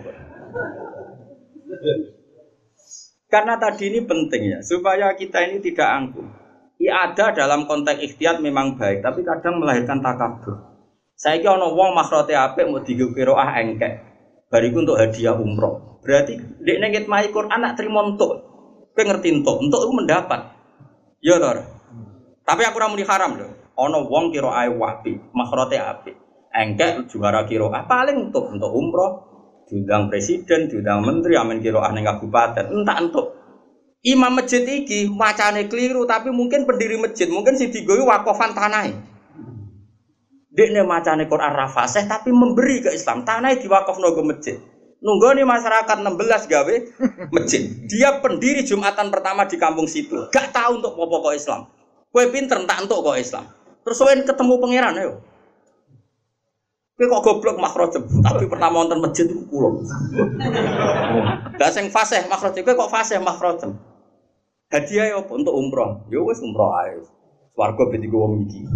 Karena tadi ini penting ya, supaya kita ini tidak angkuh. I'adah dalam konteks ikhtiyat memang baik, tapi kadang melahirkan takabur. Saiki ana wong makhrote apik mau digo qiraah engkek. Bariku untuk hadiah umroh. Berarti nek ning ngitmai Quran nak trimo entuk. Kowe ngerti entuk, entuk iku mendapat. Ya to. Tapi aku ora muni haram lho. Ana wong qiraah apik, makhrote apik. Engkek juara qiraah paling entuk untuk umroh. Diundang presiden, diundang menteri, amin kiroah ning kabupaten, entak entuk. Imam masjid iki macane keliru, tapi mungkin pendiri masjid, mungkin si digowi wakofan tanahe. Dekne macane Quran ra fasih tapi memberi ke Islam, tanahe diwakofno ke masjid. Nunggone masyarakat enam belas gawe masjid. Dia pendiri Jumatan pertama di kampung situ. Gak tahu untuk apa-apa kok Islam. Kowe pinter entak entuk kok Islam. Terus kowe ketemu pangeran ayo. Kowe kok goblok makhrajem, tapi pertama wonten masjid iku kula. Lah sing fasih makhrajem kowe kok fasih makhrajem. Hadiah ya apa untuk umroh? Ya wis umroh ae. Swarga ben digo wong iki.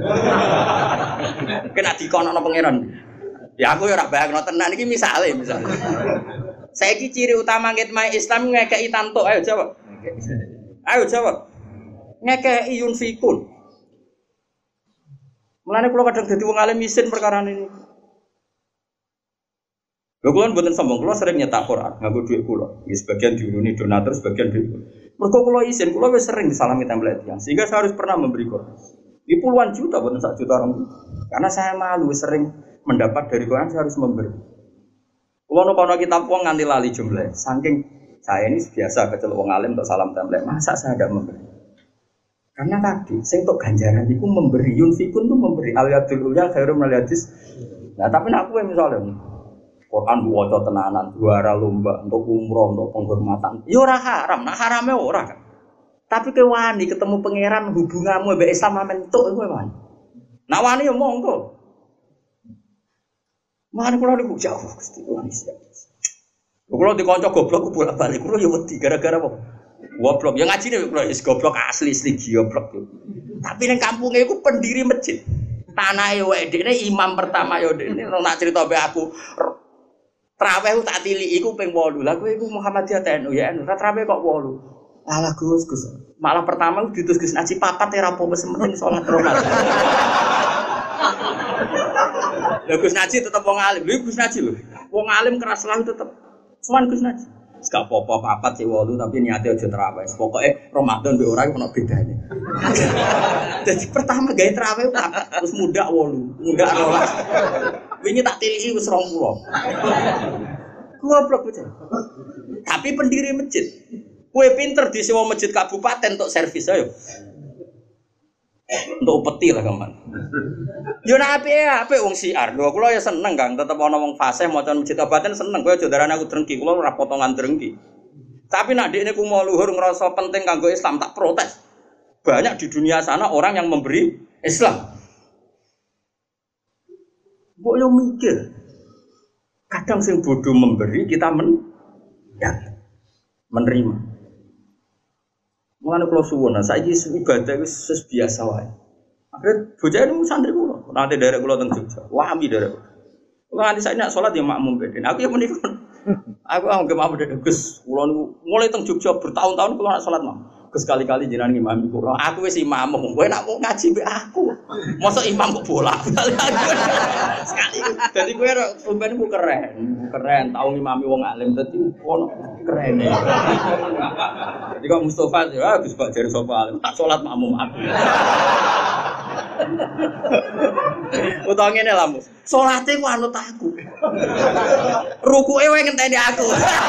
Kena dikonokno pangeran. Ya aku ya ora bayangno tenan iki misale misale. Saiki ciri utama ngitmai Islam ngekeki tantuk, ayo jawab. Ayo jawab. Ngekeki yunfikun. Mulane kula kadang dadi wong alim isin perkara ini. Lho kula mboten sombong, kula sering nyetak Quran nganggo dhuwit kula. Ya sebagian diuruni donatur, sebagian dhuwit. Mergo kula isin, kula wis sering disalami template yang sehingga saya harus pernah memberi Quran. Di puluhan juta mboten sak juta orang. Karena saya malu sering mendapat dari Quran saya harus memberi. Kula nek ana kitab wong nganti lali jumlah. Saking saya ini biasa kecelok wong alim untuk salam template, masa saya tidak memberi? Karena tadi, saya untuk ganjaran itu memberi yunfikun itu memberi al-yadul ulya khairum al-yadis. Nah, tapi nak aku misalnya Quran waca tenanan, juara lomba untuk umroh, untuk penghormatan. Ya ora haram, nak harame ora kan. Tapi kowe wani ketemu pangeran hubunganmu mbek Islam mentuk kowe wani. Nak wani ya monggo. Mana kula niku jauh Gusti wani siap. Kula dikonco goblok bolak-balik kula ya wedi gara-gara apa? Goblok, yang ngaji nih goblok, is goblok asli asli goblok. Tapi neng kampungnya itu pendiri masjid. Tanah yo edene imam pertama yo dene nak cerita be aku. Traweh tak tili iku ping wolu. Lah kowe iku Muhammadiyah T N U ya, ora traweh kok wolu. Alah Gus, Gus. Malah pertama diutus Gus ngaji papat ya rapo wis penting salat rokat. Lah Gus ngaji tetep wong alim. Lho Gus ngaji lho. Wong alim keras lah tetep. Cuman Gus ngaji. Gak apa-apa papat sih wolu tapi niatnya aja terawih. Pokoknya Ramadan be orang ono bedane. Jadi pertama gawe terawih papat terus muda wolu, muda rolas. Wingi tak tiliki wis rong puluh. Goblok bocah. Tapi pendiri masjid. Kowe pinter disewa masjid kabupaten untuk servis ayo. Untuk peti lah kaman. Yo nek apike apik wong siar. Lho kula ya seneng Kang, tetep ana wong fasih maca masjid kabupaten seneng. Kowe aja darane aku drengki, kula ora potongan drengki. Tapi nek ndekne ku mau luhur ngrasa penting kanggo Islam tak protes. Banyak di dunia sana orang yang memberi Islam. Mbok yo mikir. Kadang sing bodoh memberi kita men ya, menerima. Mulane kula suwun, saiki ibadah wis biasa wae. Akhire bocah niku santri kula, nanti derek kula teng Jogja. Wami derek. Kula nanti saiki nek salat ya makmum beden. Aku ya menika. Aku anggap makmum beden Gus. Kula niku mulai teng Jogja bertahun-tahun kula nek salat makmum. Gus kali-kali jenengan ngimami kula. Aku wis imam, kowe nek mau ngaji mbek aku. Mosok imam kok bola. Sekali. Dadi kowe sampeyan ku keren. Keren tau ngimami wong alim dadi ono keren. Jadi kok Mustofa ya Gus Pak jare sapa alim tak salat makmum aku. Utawa ngene lho, salate ku anut aku. Rukuke wae ngenteni aku.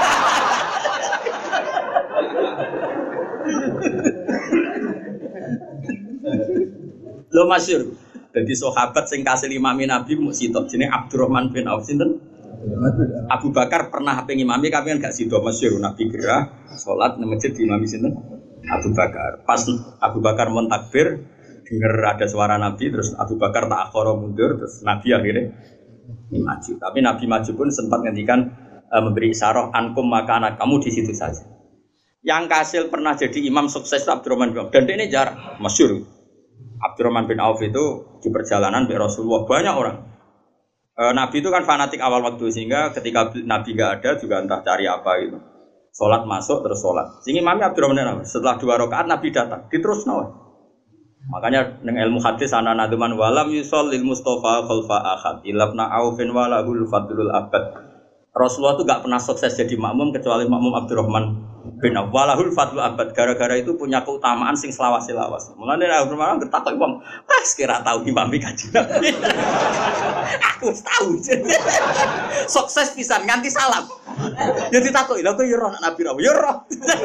Lo masyhur. Dadi sahabat sing kasil imami Nabi mung sitok jenenge Abdurrahman bin Auf sinten? Abu Bakar pernah pengen imami kami kan gak sido masyhur Nabi gerah salat nang masjid di imami sinten? Abu Bakar. Pas Abu Bakar mentakbir dengar ada suara Nabi terus Abu Bakar tak akhara mundur terus Nabi akhirnya maju. Tapi Nabi maju pun sempat ngendikan e, memberi isyarah ankum maka anak kamu di situ saja. Yang kasil pernah jadi imam sukses Abdurrahman bin Auf dan ini jarang masyhur. Abdurrahman bin Auf itu di perjalanan dengan Rasulullah banyak orang. E, Nabi itu kan fanatik awal waktu sehingga ketika Nabi nggak ada juga entah cari apa gitu. Sholat masuk terus sholat. Sehingga imamnya Abdurrahman bin Auf setelah dua rakaat Nabi datang diterus nawa. Makanya dengan ilmu hadis ana nadman walam yusallil Mustafa khalfa ahad ilabna Aufin walahul fadlul abad. Rasulullah itu enggak pernah sukses jadi makmum kecuali makmum Abdurrahman bin Auf. Walahul fadlul abad gara-gara itu punya keutamaan sing selawas-selawas. Mulane Abdurrahman bertakok wong, "Pas kira tahu imami Kanjeng Nabi." Aku tahu. Sukses pisan nganti salam. Ya ditakoki, "Lha kok ya roh Nabi ra?" Ya roh.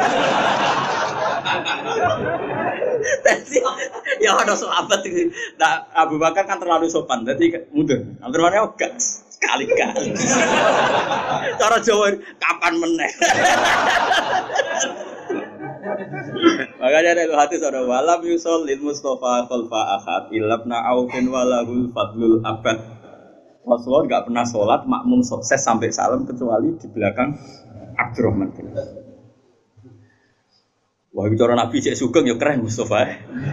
Tapi ya ada sahabat itu. Nah, Abu Bakar kan terlalu sopan, jadi mundur. Abdurrahman enggak sekali-kali. Cara Jawa kapan meneh. Makanya ada hadis ada walam yusallil Mustafa khalfa ahad ilabna Aufin walahul fadlul abad. Rasulullah enggak pernah sholat makmum sukses sampai salam kecuali di belakang Abdurrahman bin Auf. Wah, bicara Nabi cek sugeng ya keren Mustafa.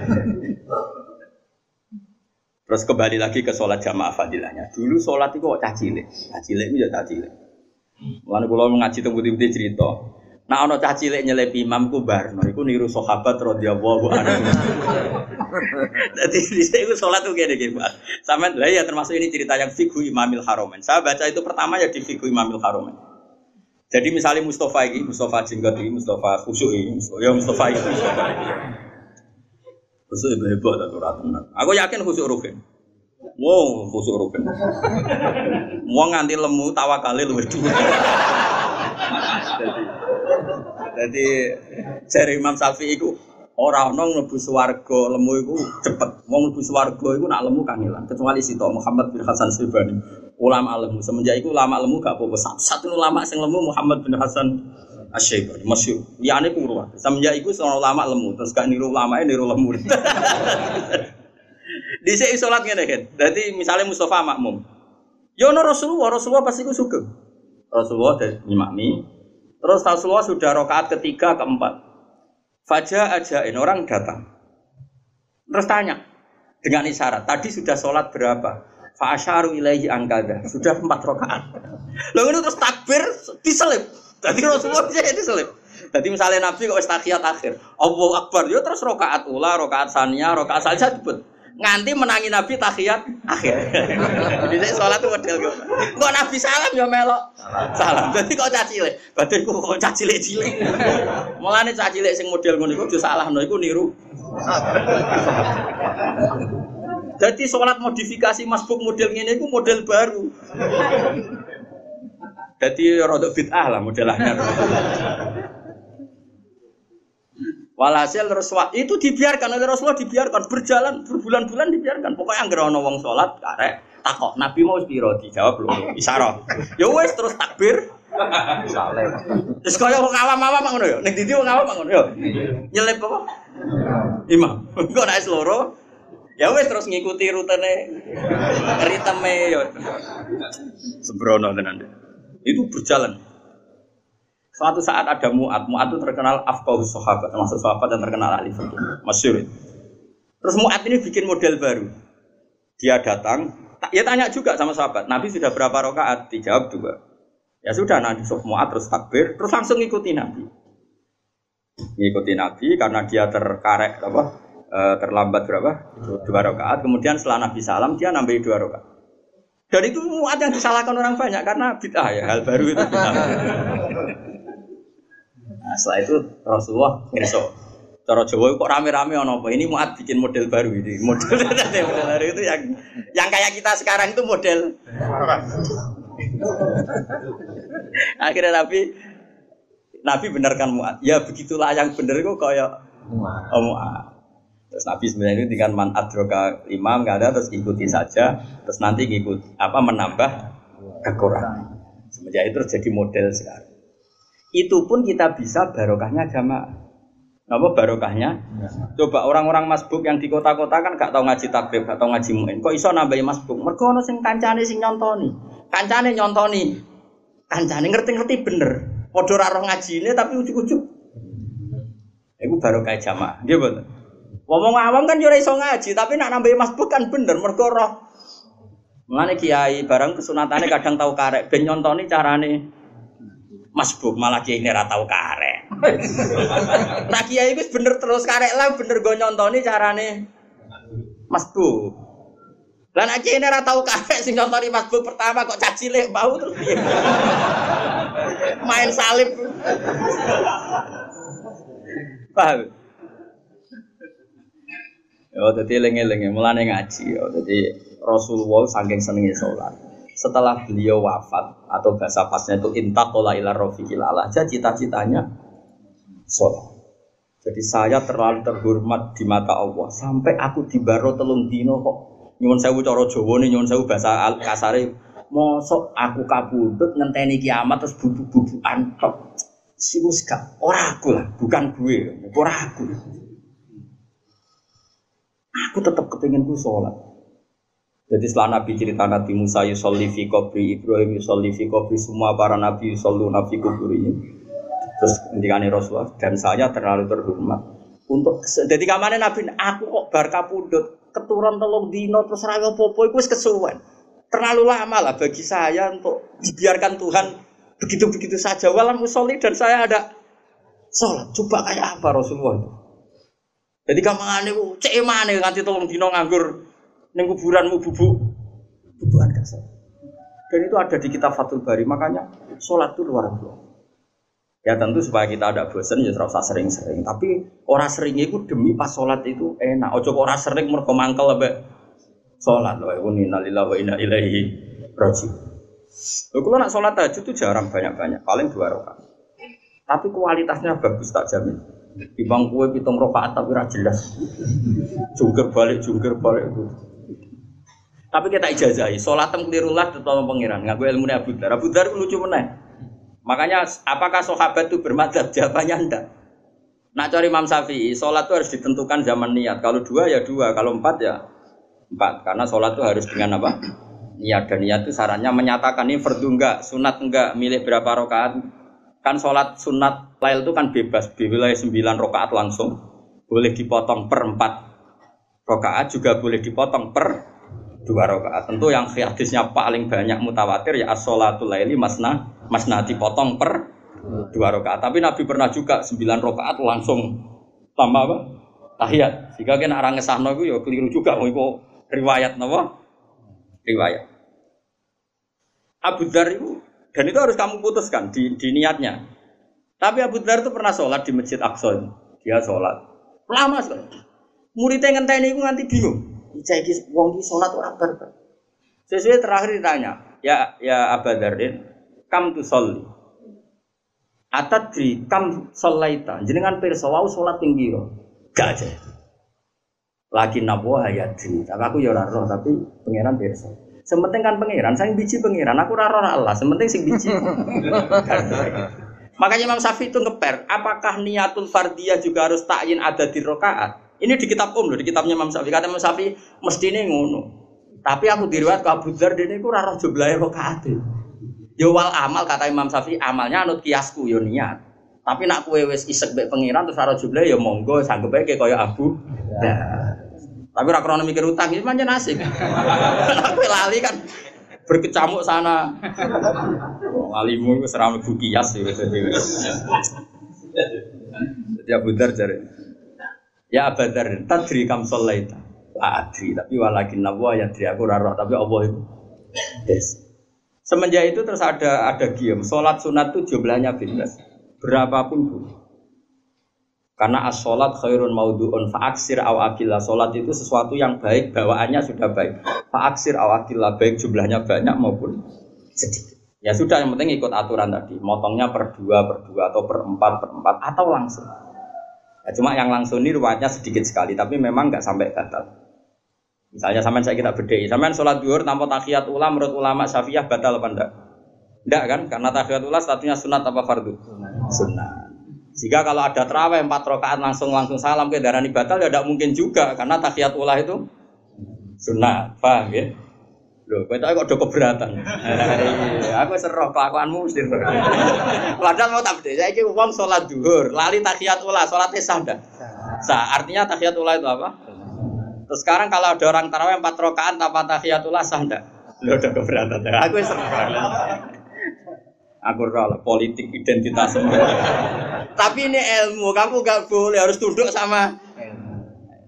Terus kembali lagi ke sholat jamaah fadilahnya. Dulu sholat itu kok cacile, cacile itu ya cacile. Lalu kalau mengaji tembus-tembus cerita, nah ono cacile nyelip imam ku barno, itu niru sahabat radhiyallahu anhu. Jadi di situ sholat itu kayak gini, Pak. Sama lah ya termasuk ini cerita yang fikih Imamil Haromen. Saya baca itu pertama ya di fikih Imamil Haromen. Jadi misalnya Mustafa ini, Mustafa jenggot ini, Mustafa khusyuk ini, ya Mustafa itu. Khusyuk itu hebat atau ratunan. Aku yakin khusyuk rugen. Wow, khusyuk rugen. Mau nganti lemu tawakale luwih dhuwur. Jadi jare Imam Syafi'i iku ora ana mlebu swarga lemu iku cepet. Wong mlebu swarga iku nak lemu kangelan, kecuali Sito Muhammad bin Hasan Syaibani. Ulama lemu semenjak itu ulama lemu gak apa-apa. Satu ulama sing lemu Muhammad bin Hasan Asy-Syaibani masyhur. Liyane ku ruwah. Semenjak itu seorang ulama lemu terus gak niru ulamae niru lemu. Dhisik salat ngene kan. Dadi misale Mustafa makmum. Ya ono Rasulullah, Rasulullah pasti ku sugeng. Rasulullah dan imami. Terus Rasulullah sudah rakaat ketiga keempat. Faja ajain orang datang. Terus tanya dengan isyarat, tadi sudah sholat berapa? Fa asyaru ilaihi angkada. Sudah empat rakaat. Lalu itu terus takbir diselip. Jadi Rasulullah bisa diselip. Jadi misalnya Nabi kok tahiyat akhir, Allahu Akbar, yo terus rakaat ula, rakaat saniyah, rakaat saja disebut. Nganti menangi Nabi tahiyat akhir. Jadi saya sholat itu model gitu. Kok Nabi salam ya melok salam. Jadi kok cacile, badanku kok cacile cilik. Mulane cacile sing model ngono iku disalahno iku niru. Jadi sholat modifikasi masbuk model ngene iku model baru. Jadi rodok bid'ah lah modelnya. Walhasil Rasulullah itu dibiarkan oleh Rasulullah dibiarkan berjalan berbulan-bulan dibiarkan. Pokoknya anggere ana wong salat karek takok Nabi mau piro dijawab lho isyarah. Ya wis terus takbir salam. Terus kaya wong awam-awam ngono ya. Ning ndi wong awam ngono ya. Nyelip apa? Imam. Engko nek loro Ya wes terus ngikuti rutene ritme yo. Sembrono tenan. Itu berjalan. Suatu saat ada Mu'ad. Mu'ad itu terkenal afqahus sahabat, termasuk sahabat yang terkenal ahli fikih. Masyhur. Terus Mu'ad ini bikin model baru. Dia datang, ya tanya juga sama sahabat, Nabi sudah berapa rakaat? Dijawab dua. Ya sudah, Nabi Mu'ad terus takbir, terus langsung ngikuti Nabi. Ngikuti Nabi karena dia terkarek apa? Uh, terlambat berapa? Dua rakaat. Kemudian setelah Nabi salam dia nambahi dua rakaat. Dan itu Mu'ad yang disalahkan orang banyak karena bid'ah ya, hal baru itu bid'ah. Nah, setelah itu Rasulullah ngerso. Cara Jawa kok rame-rame ono apa? Ini Mu'ad bikin model baru ini. Model model baru itu yang yang kayak kita sekarang itu model. Akhirnya Nabi Nabi benarkan Mu'ad. Ya begitulah yang benar kok kayak Mu'ad. Terus Nabi sebenarnya itu dengan man adroka imam nggak ada terus ikuti saja terus nanti ngikut apa menambah kekurangan. Semenjak itu terus jadi model sekarang. Itu pun kita bisa barokahnya jamaah. Apa barokahnya? Ya. Coba orang-orang masbuk yang di kota-kota kan gak tahu ngaji takrib, gak tahu ngaji muin. Kok iso nambahi masbuk? Mergo ono sing kancane sing nyontoni. Kancane nyontoni. Kancane ngerti-ngerti bener. Padha ora roh ngajine tapi ujug-ujug. Iku barokah jamaah. Nggih mboten. Wong awam kan yo ora iso ngaji, tapi nak nambahi masbuk kan bener mergo roh. Mulane kiai barang kesunatane kadang tahu karek ben nyontoni carane masbuk, malah kiai ini ora tau karek. Nah kiai wis bener terus karek lah bener go nyontoni carane masbuk. Lah nek kiai ini ora tau karek sing nyontoni masbuk pertama kok caci cilik bau terus piye? Main salib. Paham? Yo dadi eling-eling mulane ngaji yo dadi Rasulullah saking senenge salat. Setelah beliau wafat atau bahasa pasnya itu intaqala ila rafiqil a'la, cita-citanya sholat. Jadi saya terlalu terhormat di mata Allah sampai aku dibaro telung dino kok nyuwun sewu cara Jawane nyuwun sewu bahasa kasare mosok aku kabudut ngenteni kiamat terus bubuk-bubukan tok. Siwus gak ora aku lah, bukan gue, ora aku. Aku tetap kepengin ku sholat. Jadi setelah Nabi cerita Nabi Musa yusolli fi qabri, Ibrahim yusolli fi qabri, semua para Nabi yusalluna fi quburihim. Terus ngendikane Rasulullah dan saya terlalu terhormat untuk jadi kamane Nabi aku kok bar kapundhut keturun telung dino terus ra apa-apa iku wis kesuwen. Terlalu lama lah bagi saya untuk dibiarkan Tuhan begitu-begitu saja walam musolli dan saya ada sholat. Coba kayak apa Rasulullah itu? Jadi kamane ku cek emane nganti telung dino nganggur ning kuburanmu bubuk bubukan kasar. Dan itu ada di kitab Fathul Bari, makanya sholat itu luar biasa. Ya tentu supaya kita ada bosan ya ora usah sering-sering, tapi ora sering itu demi pas sholat itu enak. Ojo kok ora sering mergo mangkel ambek sholat. Wa inna lillahi wa inna ilaihi raji'un. Lho kalau nak sholat tahajud itu jarang banyak-banyak, paling dua rakaat. Tapi kualitasnya bagus tak jamin. Di bang kue pitung rakaat tapi ora jelas. Jungkir balik jungkir balik itu. Tapi kita ijazahi, sholat tem kelirulah tetap pengiran. Ngaku ilmu Abu Dzar. Abu Dzar lucu meneh. Makanya apakah sahabat itu bermadzhab? Jawabannya enggak. Nak cari Imam Syafi'i, sholat itu harus ditentukan zaman niat. Kalau dua ya dua, kalau empat ya empat. Karena sholat itu harus dengan apa? Niat. Dan niat itu sarannya menyatakan ini fardu enggak, sunat enggak, milih berapa rakaat. Kan sholat sunat lail itu kan bebas, wilayah sembilan rakaat langsung. Boleh dipotong per empat rakaat, juga boleh dipotong per dua rakaat. Tentu yang hadisnya paling banyak mutawatir ya as-sholatul laili masna masna dipotong per dua rakaat. Tapi Nabi pernah juga sembilan rakaat langsung tambah apa? Tahiyat. Jika kena orang ngesahno iku ya keliru juga iku riwayat napa? Riwayat. Abu Dzar itu dan itu harus kamu putuskan di, di niatnya. Tapi Abu Dzar itu pernah sholat di Masjid Aqsa. Dia sholat lama sekali. Muridnya ngenteni iku nganti bingung. Iki wong iki salat ora barbar. Sesuai terakhir ditanya, ya ya Abu Dzardin, kam tu sholli. Atadri kam sholaita. Jenengan pirsa wau salat ping pira? Gak aja. Lagi nabo hayati. Tapi aku ya ora roh tapi pangeran pirsa. Sementing kan pangeran, sing biji pangeran, aku ora roh Allah, sementing sing biji. Makanya Imam Syafi'i itu ngeper, apakah niatul fardiyah juga harus takyin ada di rakaat? Ini di kitab Om loh, di kitabnya Imam Syafi'i. Kata Imam Syafi'i mestine ngono. Tapi aku diriwayat ke Abu Dzar dene iku ora roh jumlahe rakaat. Ya wal amal kata Imam Syafi'i amalnya anut kiasku yo niat. Tapi nak kowe wis isek mbek pengiran terus ora jumlahe ya monggo sanggep ae kaya Abu Dzar. Tapi ora krono mikir utang iki pancen asik. Aku lali kan berkecamuk sana. Walimu wis ora mlebu kias wis wis. Jadi Abu Dzar jare. Ya Abu Dzar, tadri kam sholaita. La adri, tapi walakin nawa ya adri aku ora roh, tapi Allah itu. Des. Semenjak itu terus ada ada gium, salat sunat itu jumlahnya bebas. Berapapun bu. Karena as-sholat khairun maudhu'un fa'aksir aw akillah. Sholat itu sesuatu yang baik, bawaannya sudah baik. Fa'aksir aw akillah, baik jumlahnya banyak maupun sedikit. Ya sudah, yang penting ikut aturan tadi. Motongnya per dua, per dua, atau per empat, per empat, atau langsung. Ya, cuma yang langsung ini ruwetnya sedikit sekali, tapi memang nggak sampai batal. Misalnya sampean saya kita bedai, sampean sholat duhur tanpa tahiyat ula menurut ulama Syafi'iyah batal apa enggak? Enggak kan? Karena tahiyat ula statusnya sunat apa fardu? Sunat. Jika kalau ada tarawih empat rakaat langsung langsung salam ke darani batal ya tidak mungkin juga karena tahiyat ulah itu sunat, paham ya? Loh, kowe kok do keberatan. Aku seroh kelakuanmu mesti. Padahal mau tak bedhe, saiki wong salat zuhur, lali tahiyat ulah, salate sah ndak? Sah. Artinya tahiyat ulah itu apa? Terus sekarang kalau ada orang tarawih empat rakaat tanpa tahiyat ulah sah ndak? Loh, do keberatan. Aku seroh. Aku rela politik identitas semua. Tapi ini ilmu, kamu gak boleh harus tunduk sama ilmu.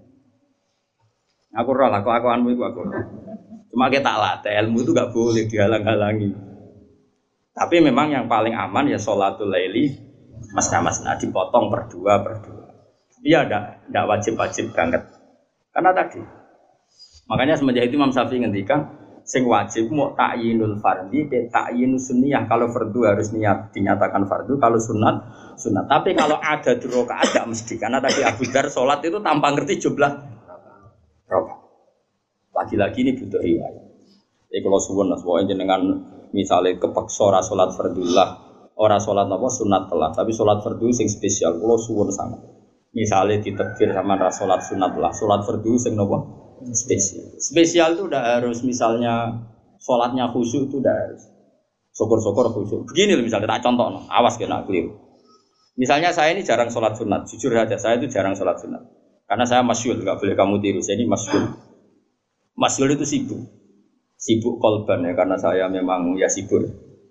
Aku rela, aku akuanmu itu aku. Cuma kita latih ilmu itu gak boleh dihalang-halangi. Tapi memang yang paling aman ya sholatul laili mas-mas, nah dipotong per dua per dua. Iya, ndak ndak wajib-wajib banget. Karena tadi, makanya semenjak itu Imam Syafi'i ngendikan. Sing wajib mau takyinul fardhi dan takyinus sunniyah. Kalau fardu harus niat dinyatakan fardu, kalau sunat sunat. Tapi kalau ada di rakaat tidak mesti karena tadi Abu Dzar sholat itu tanpa ngerti jumlah rakaat. Lagi-lagi ini butuh riwayat. Jadi kalau suwun lah, pokoknya dengan misalnya kepeksa ora sholat fardullah, ora sholat apa sunat telah, tapi sholat fardu sing spesial. Kalau suwun sangat. Misalnya ditekfir sama ra sholat sunat lah, sholat fardu sing apa? Spesial. Spesial itu udah harus misalnya sholatnya khusyuk itu udah harus. Syukur-syukur khusyuk. Begini loh misalnya tak contoh, no. Awas kena keliru. Misalnya saya ini jarang sholat sunat, jujur saja saya itu jarang sholat sunat. Karena saya masyhur, nggak boleh kamu tiru. Saya ini masyhur. Masyhur itu sibuk, sibuk kolban ya karena saya memang ya sibuk.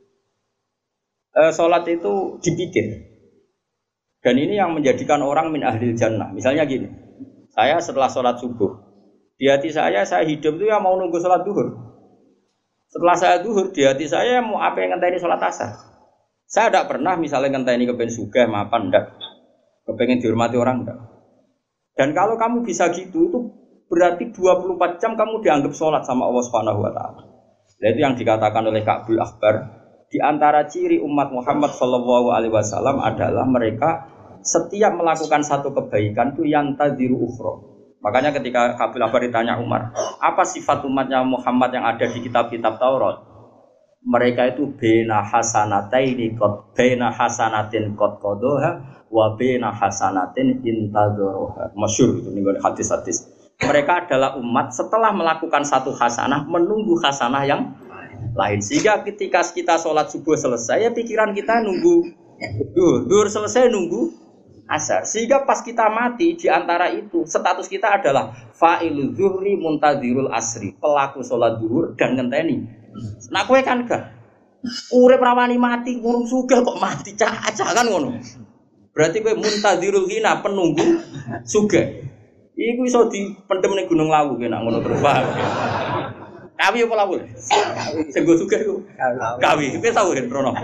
E, sholat itu dipikir. Dan ini yang menjadikan orang min ahlil jannah. Misalnya gini, saya setelah sholat subuh. Di hati saya, saya hidup itu ya mau nunggu sholat duhur. Setelah saya duhur, di hati saya mau apa yang ngenteni sholat asar. Saya tidak pernah misalnya ngenteni kepengen sugih, mapan, enggak. Kepengen dihormati orang, enggak. Dan kalau kamu bisa gitu, itu berarti dua puluh empat jam kamu dianggap sholat sama Allah Subhanahu Wa Taala. Dan itu yang dikatakan oleh Ka'bul Akhbar. Di antara ciri umat Muhammad Shallallahu Alaihi Wasallam adalah mereka setiap melakukan satu kebaikan itu yang tadiru ukhra. Makanya ketika Ka'bul Akhbar ditanya Umar, apa sifat umatnya Muhammad yang ada di kitab-kitab Taurat? Mereka itu bena hasanataini qad bena hasanatin qad qadaha wa bena hasanatin intadzaraha. Masyhur itu nih hadis-hadis. Mereka adalah umat setelah melakukan satu hasanah menunggu hasanah yang lain. Sehingga ketika kita sholat subuh selesai, ya pikiran kita nunggu duhur, duhur selesai nunggu asar. Sehingga pas kita mati di antara itu status kita adalah fa'ilul zuhri muntadzirul asri, pelaku sholat zuhur dan ngenteni. Nah kowe kan gak urip rawani mati ngurung sugih kok mati cah-cah kan ngono. Berarti kowe muntadzirul hina penunggu sugih. Iku iso dipendem ning Gunung Lawu kena ngono terus paham. Kawi apa lawu? Sing go sugih iku. Kawi. Kowe tau kan Rono.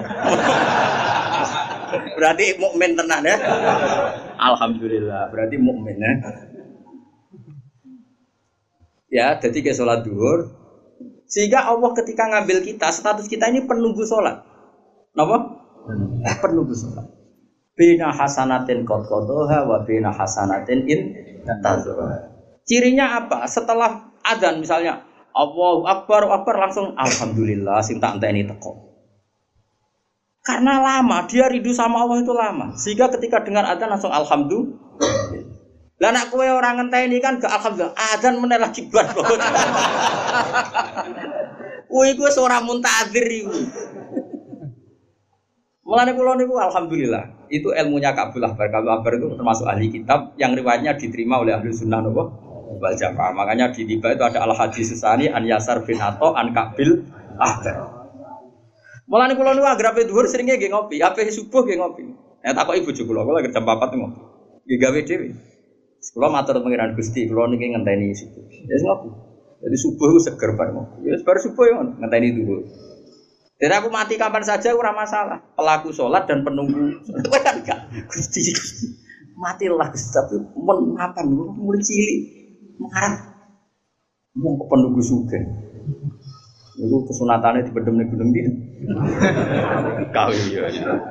Berarti mukmin tenan ya. Alhamdulillah, berarti mukmin ya. Ya, jadi ke sholat duhur. Sehingga Allah ketika ngambil kita, status kita ini penunggu sholat. Napa? Penunggu sholat. Bina hasanatin qad qadaha wa bina hasanatin in tazara. Cirinya apa? Setelah adzan misalnya Allahu Akbar, Akbar langsung alhamdulillah sing tak enteni teko. Karena lama, dia rindu sama Allah itu lama. Sehingga ketika dengar adzan langsung alhamdulillah. Lah nek kowe ora ngenteni kan gak alhamdulillah adzan meneh lagi bar. Kuwi ku wis ora muntadzir iku. Mulane kula niku alhamdulillah, itu ilmunya Ka'bul Ahbar. Ka'bul Ahbar itu termasuk ahli kitab yang riwayatnya diterima oleh ahli sunnah nopo wal jamaah. Makanya di tiba itu ada al hadis susani an Yasar bin Atha an Ka'bul Ahbar. Mulane kula niku agrape dhuwur seringe nggih ngopi, ape subuh nggih ngopi. Nek takoki bojo kula, kula jam papat ngopi. Nggih gawe dhewe. Kula matur pengiran Gusti, kula niki ngenteni subuh. Wis ngopi. Jadi subuh itu seger bar ngopi. Ya bar subuh ya ngenteni dulu. Jadi aku mati kapan saja ora masalah. Pelaku sholat dan penunggu. Kowe kan gak Gusti Gusti. Matilah Gusti tapi men kapan mulai cilik. Mengarep wong penunggu sugih. Niku kesunatane dipedhem ning gunung ndi. Kau iya.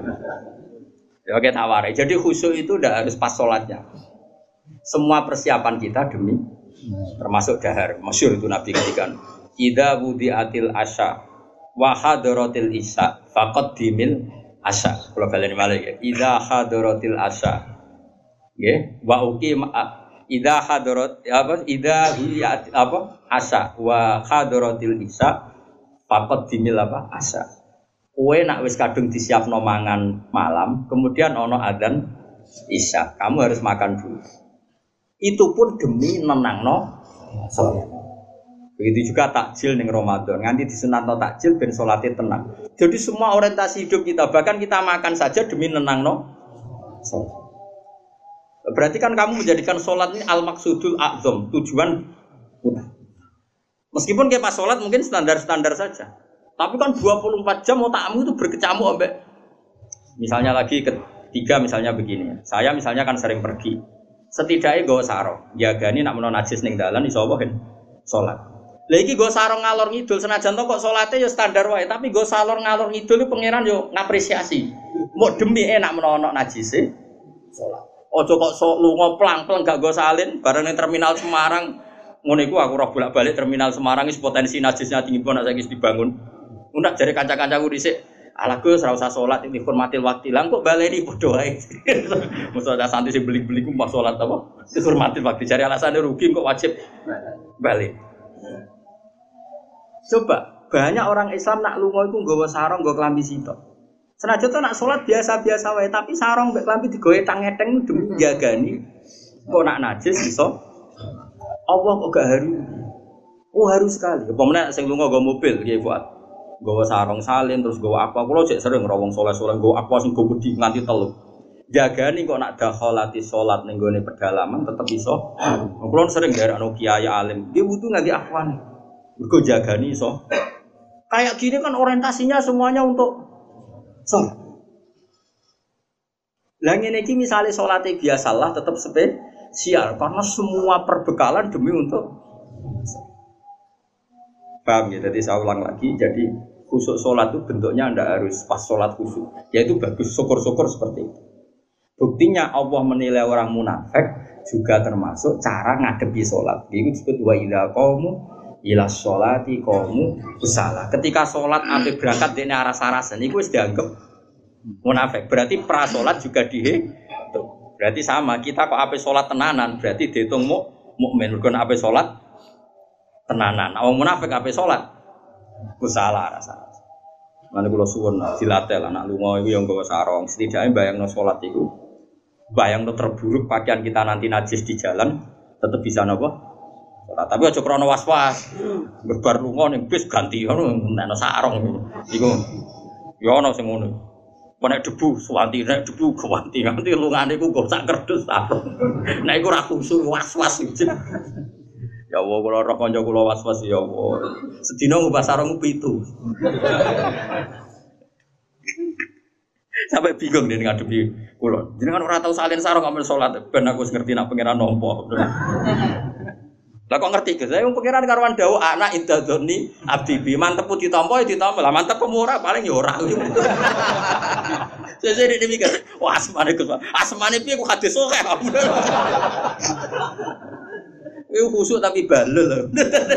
Ya oke taware. Jadi khusyuk itu ndak harus pas sholatnya. Semua persiapan kita demi termasuk dahar. Masyhur itu Nabi ngendikan, "Idza wudi'atil asya wa hadaratil isya faqad dimil asya." Kalau baleni malih ya. Idza hadaratil asya. Nggih, wa uqim idza hadarat apa idza wudi'at apa asya wa hadaratil isya faqad dimil apa asya. Kowe nak wis kadung disiapno mangan malam, kemudian ana adzan isya, kamu harus makan dulu. Itu pun demi nenangno salat. Begitu juga takjil ning Ramadan, nganti disunatno takjil ben salate tenang. Jadi semua orientasi hidup kita, bahkan kita makan saja demi nenangno salat. Berarti kan kamu menjadikan salat ini al-maqsudul a'zam, tujuan utama. Meskipun kayak pas salat mungkin standar-standar saja. Tapi kan dua puluh empat jam otakmu itu berkecamuk ambek. Misalnya lagi ketiga misalnya begini. Saya misalnya kan sering pergi. Setidaknya nggawa sarung, jagani nak menawa najis ning dalan iso wae salat. Lah iki nggo sarung ngalor ngidul senajan to kok salate ya standar wae, tapi nggo salor ngalor ngidul iki pangeran yo ngapresiasi. Mbok demi enak menawa ana najise salat. Aja kok sok lunga plang-plang gak nggo salin bareng ning terminal Semarang. Ngono iku aku ora bolak-balik terminal Semarang wis potensi najisnya tinggi pun nek saiki dibangun. Ndak jare kanca-kancaku dhisik, "Ala Gus ora usah salat iki hormatil waktu." Lah kok baleni padha wae. Mosok ada santri sing beli-beli ku mbah salat apa? Hormatil waktu jare alasane rugi kok wajib balik. Coba banyak orang Islam nak lunga iku nggawa sarung, nggawa klambi sitok. Senajan to nak salat biasa-biasa wae, tapi sarung mbek klambi digowe tang-eteng demi jagani. Kok nak najis iso Allah kok gak haru. Oh haru sekali. Apa meneh sing lunga nggawa mobil nggih Fuad. Gawa sarung salin terus gawa apa kula cek sering rawong soleh-soleh gawa apa sing go gedhi nganti telu. Jagani kok nak dakhalati salat ning gone pedalaman tetep iso. Kula sering garekno kiai alim, dia wudu ngangge afwan. Mergo jagani iso. Kayak gini kan orientasinya semuanya untuk salat. Lah ngene iki misale salate biasalah tetep spesial karena semua perbekalan demi untuk paham ya, jadi saya ulang lagi, jadi khusyuk sholat itu bentuknya tidak harus pas sholat khusyuk, yaitu bagus, syukur-syukur seperti itu. Buktinya Allah menilai orang munafik juga termasuk cara ngadepi sholat. Itu disebut wa idza qamu ila sholati qamu kusala. Ketika sholat sampai berangkat dene aras-arasan, itu wis dianggap munafik. Berarti pra sholat juga dihitung. Berarti sama, kita kok ape sholat tenanan, berarti dihitung mukmin. Mergo ape sholat tenanan, awang munafik ape salat? Ku salah rasa. Lan kula suwun dilatih lah nak lunga iku ya nggawa sarung, setidaknya bayangno salat iku. Bayangno terburuk pakaian kita nanti najis di jalan tetep bisa napa? Salat. Tapi aja krana was-was. Berbar lunga ning bis ganti ngono nek sarung iku. Ya ana sing ngono. Nek debu suwanti nek debu ganti nganti lungane iku nggo sak kerdus sarung. Nek iku ora khusyuk was-was. Ya Allah, kalau roh konco kula was-was ya Allah. Sedina ngubah sarung pitu. Sampai bingung dia ngadepi kula. Jenengan ora tau salin sarung ambil salat, ben aku wis ngerti nak pangeran nampa. Lah kok ngerti Gus? Saya pangeran karuan dawuh anak indadzoni abdi bi mantep ditampa ya ditampa. Lah mantep pemurah paling ya ora. Sesuk iki mikir, wah asmane Gus. Asmane piye ku hadis oke. Iku khusuk tapi balel.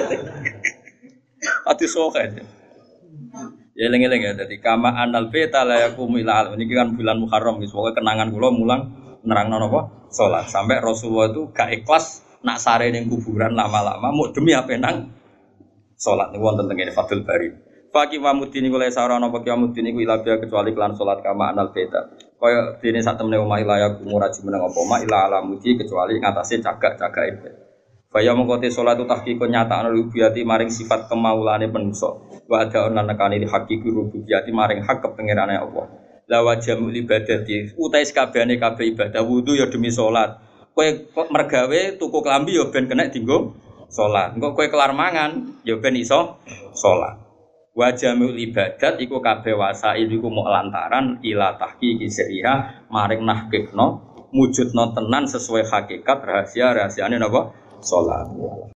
Ati soket. Ya eling-eling ya dadi kama anal beta la yakum ila al. Niki kan bulan Muharram wis pokoke kenangan kula mulang nerangno napa salat. Sampai Rasulullah itu gak ikhlas nak sare ning kuburan lama-lama mau demi apa nang salat niku wonten teng ngene Fathul Bari. Faqih wa mudini kula sarana apa kiamu dini ku ila kecuali kelan salat kama anal beda. Kaya dene sak temene omah ilaya kumuraji meneng apa mak ila alamuji kecuali ngatasé cagak-cagak ibadah. Faya mengkote sholat itu tahqiqun nyata rububiyati maring sifat kemaulane manusa. Wa ada lan nekani haqiqi rububiyati maring hak kepengerane Allah. La wajamul ibadati utai sakabehane kabeh ibadah wudu ya demi sholat. Kowe mergawe tuku klambi ya ben kena dienggo sholat. Engko kowe kelar mangan ya ben iso sholat. Wajamul ibadat iku kabeh wasail iku mok lantaran ila tahqiqi sirriha maring nahqiqno mujudno tenan sesuai hakikat rahasia rahasiane napa sholat.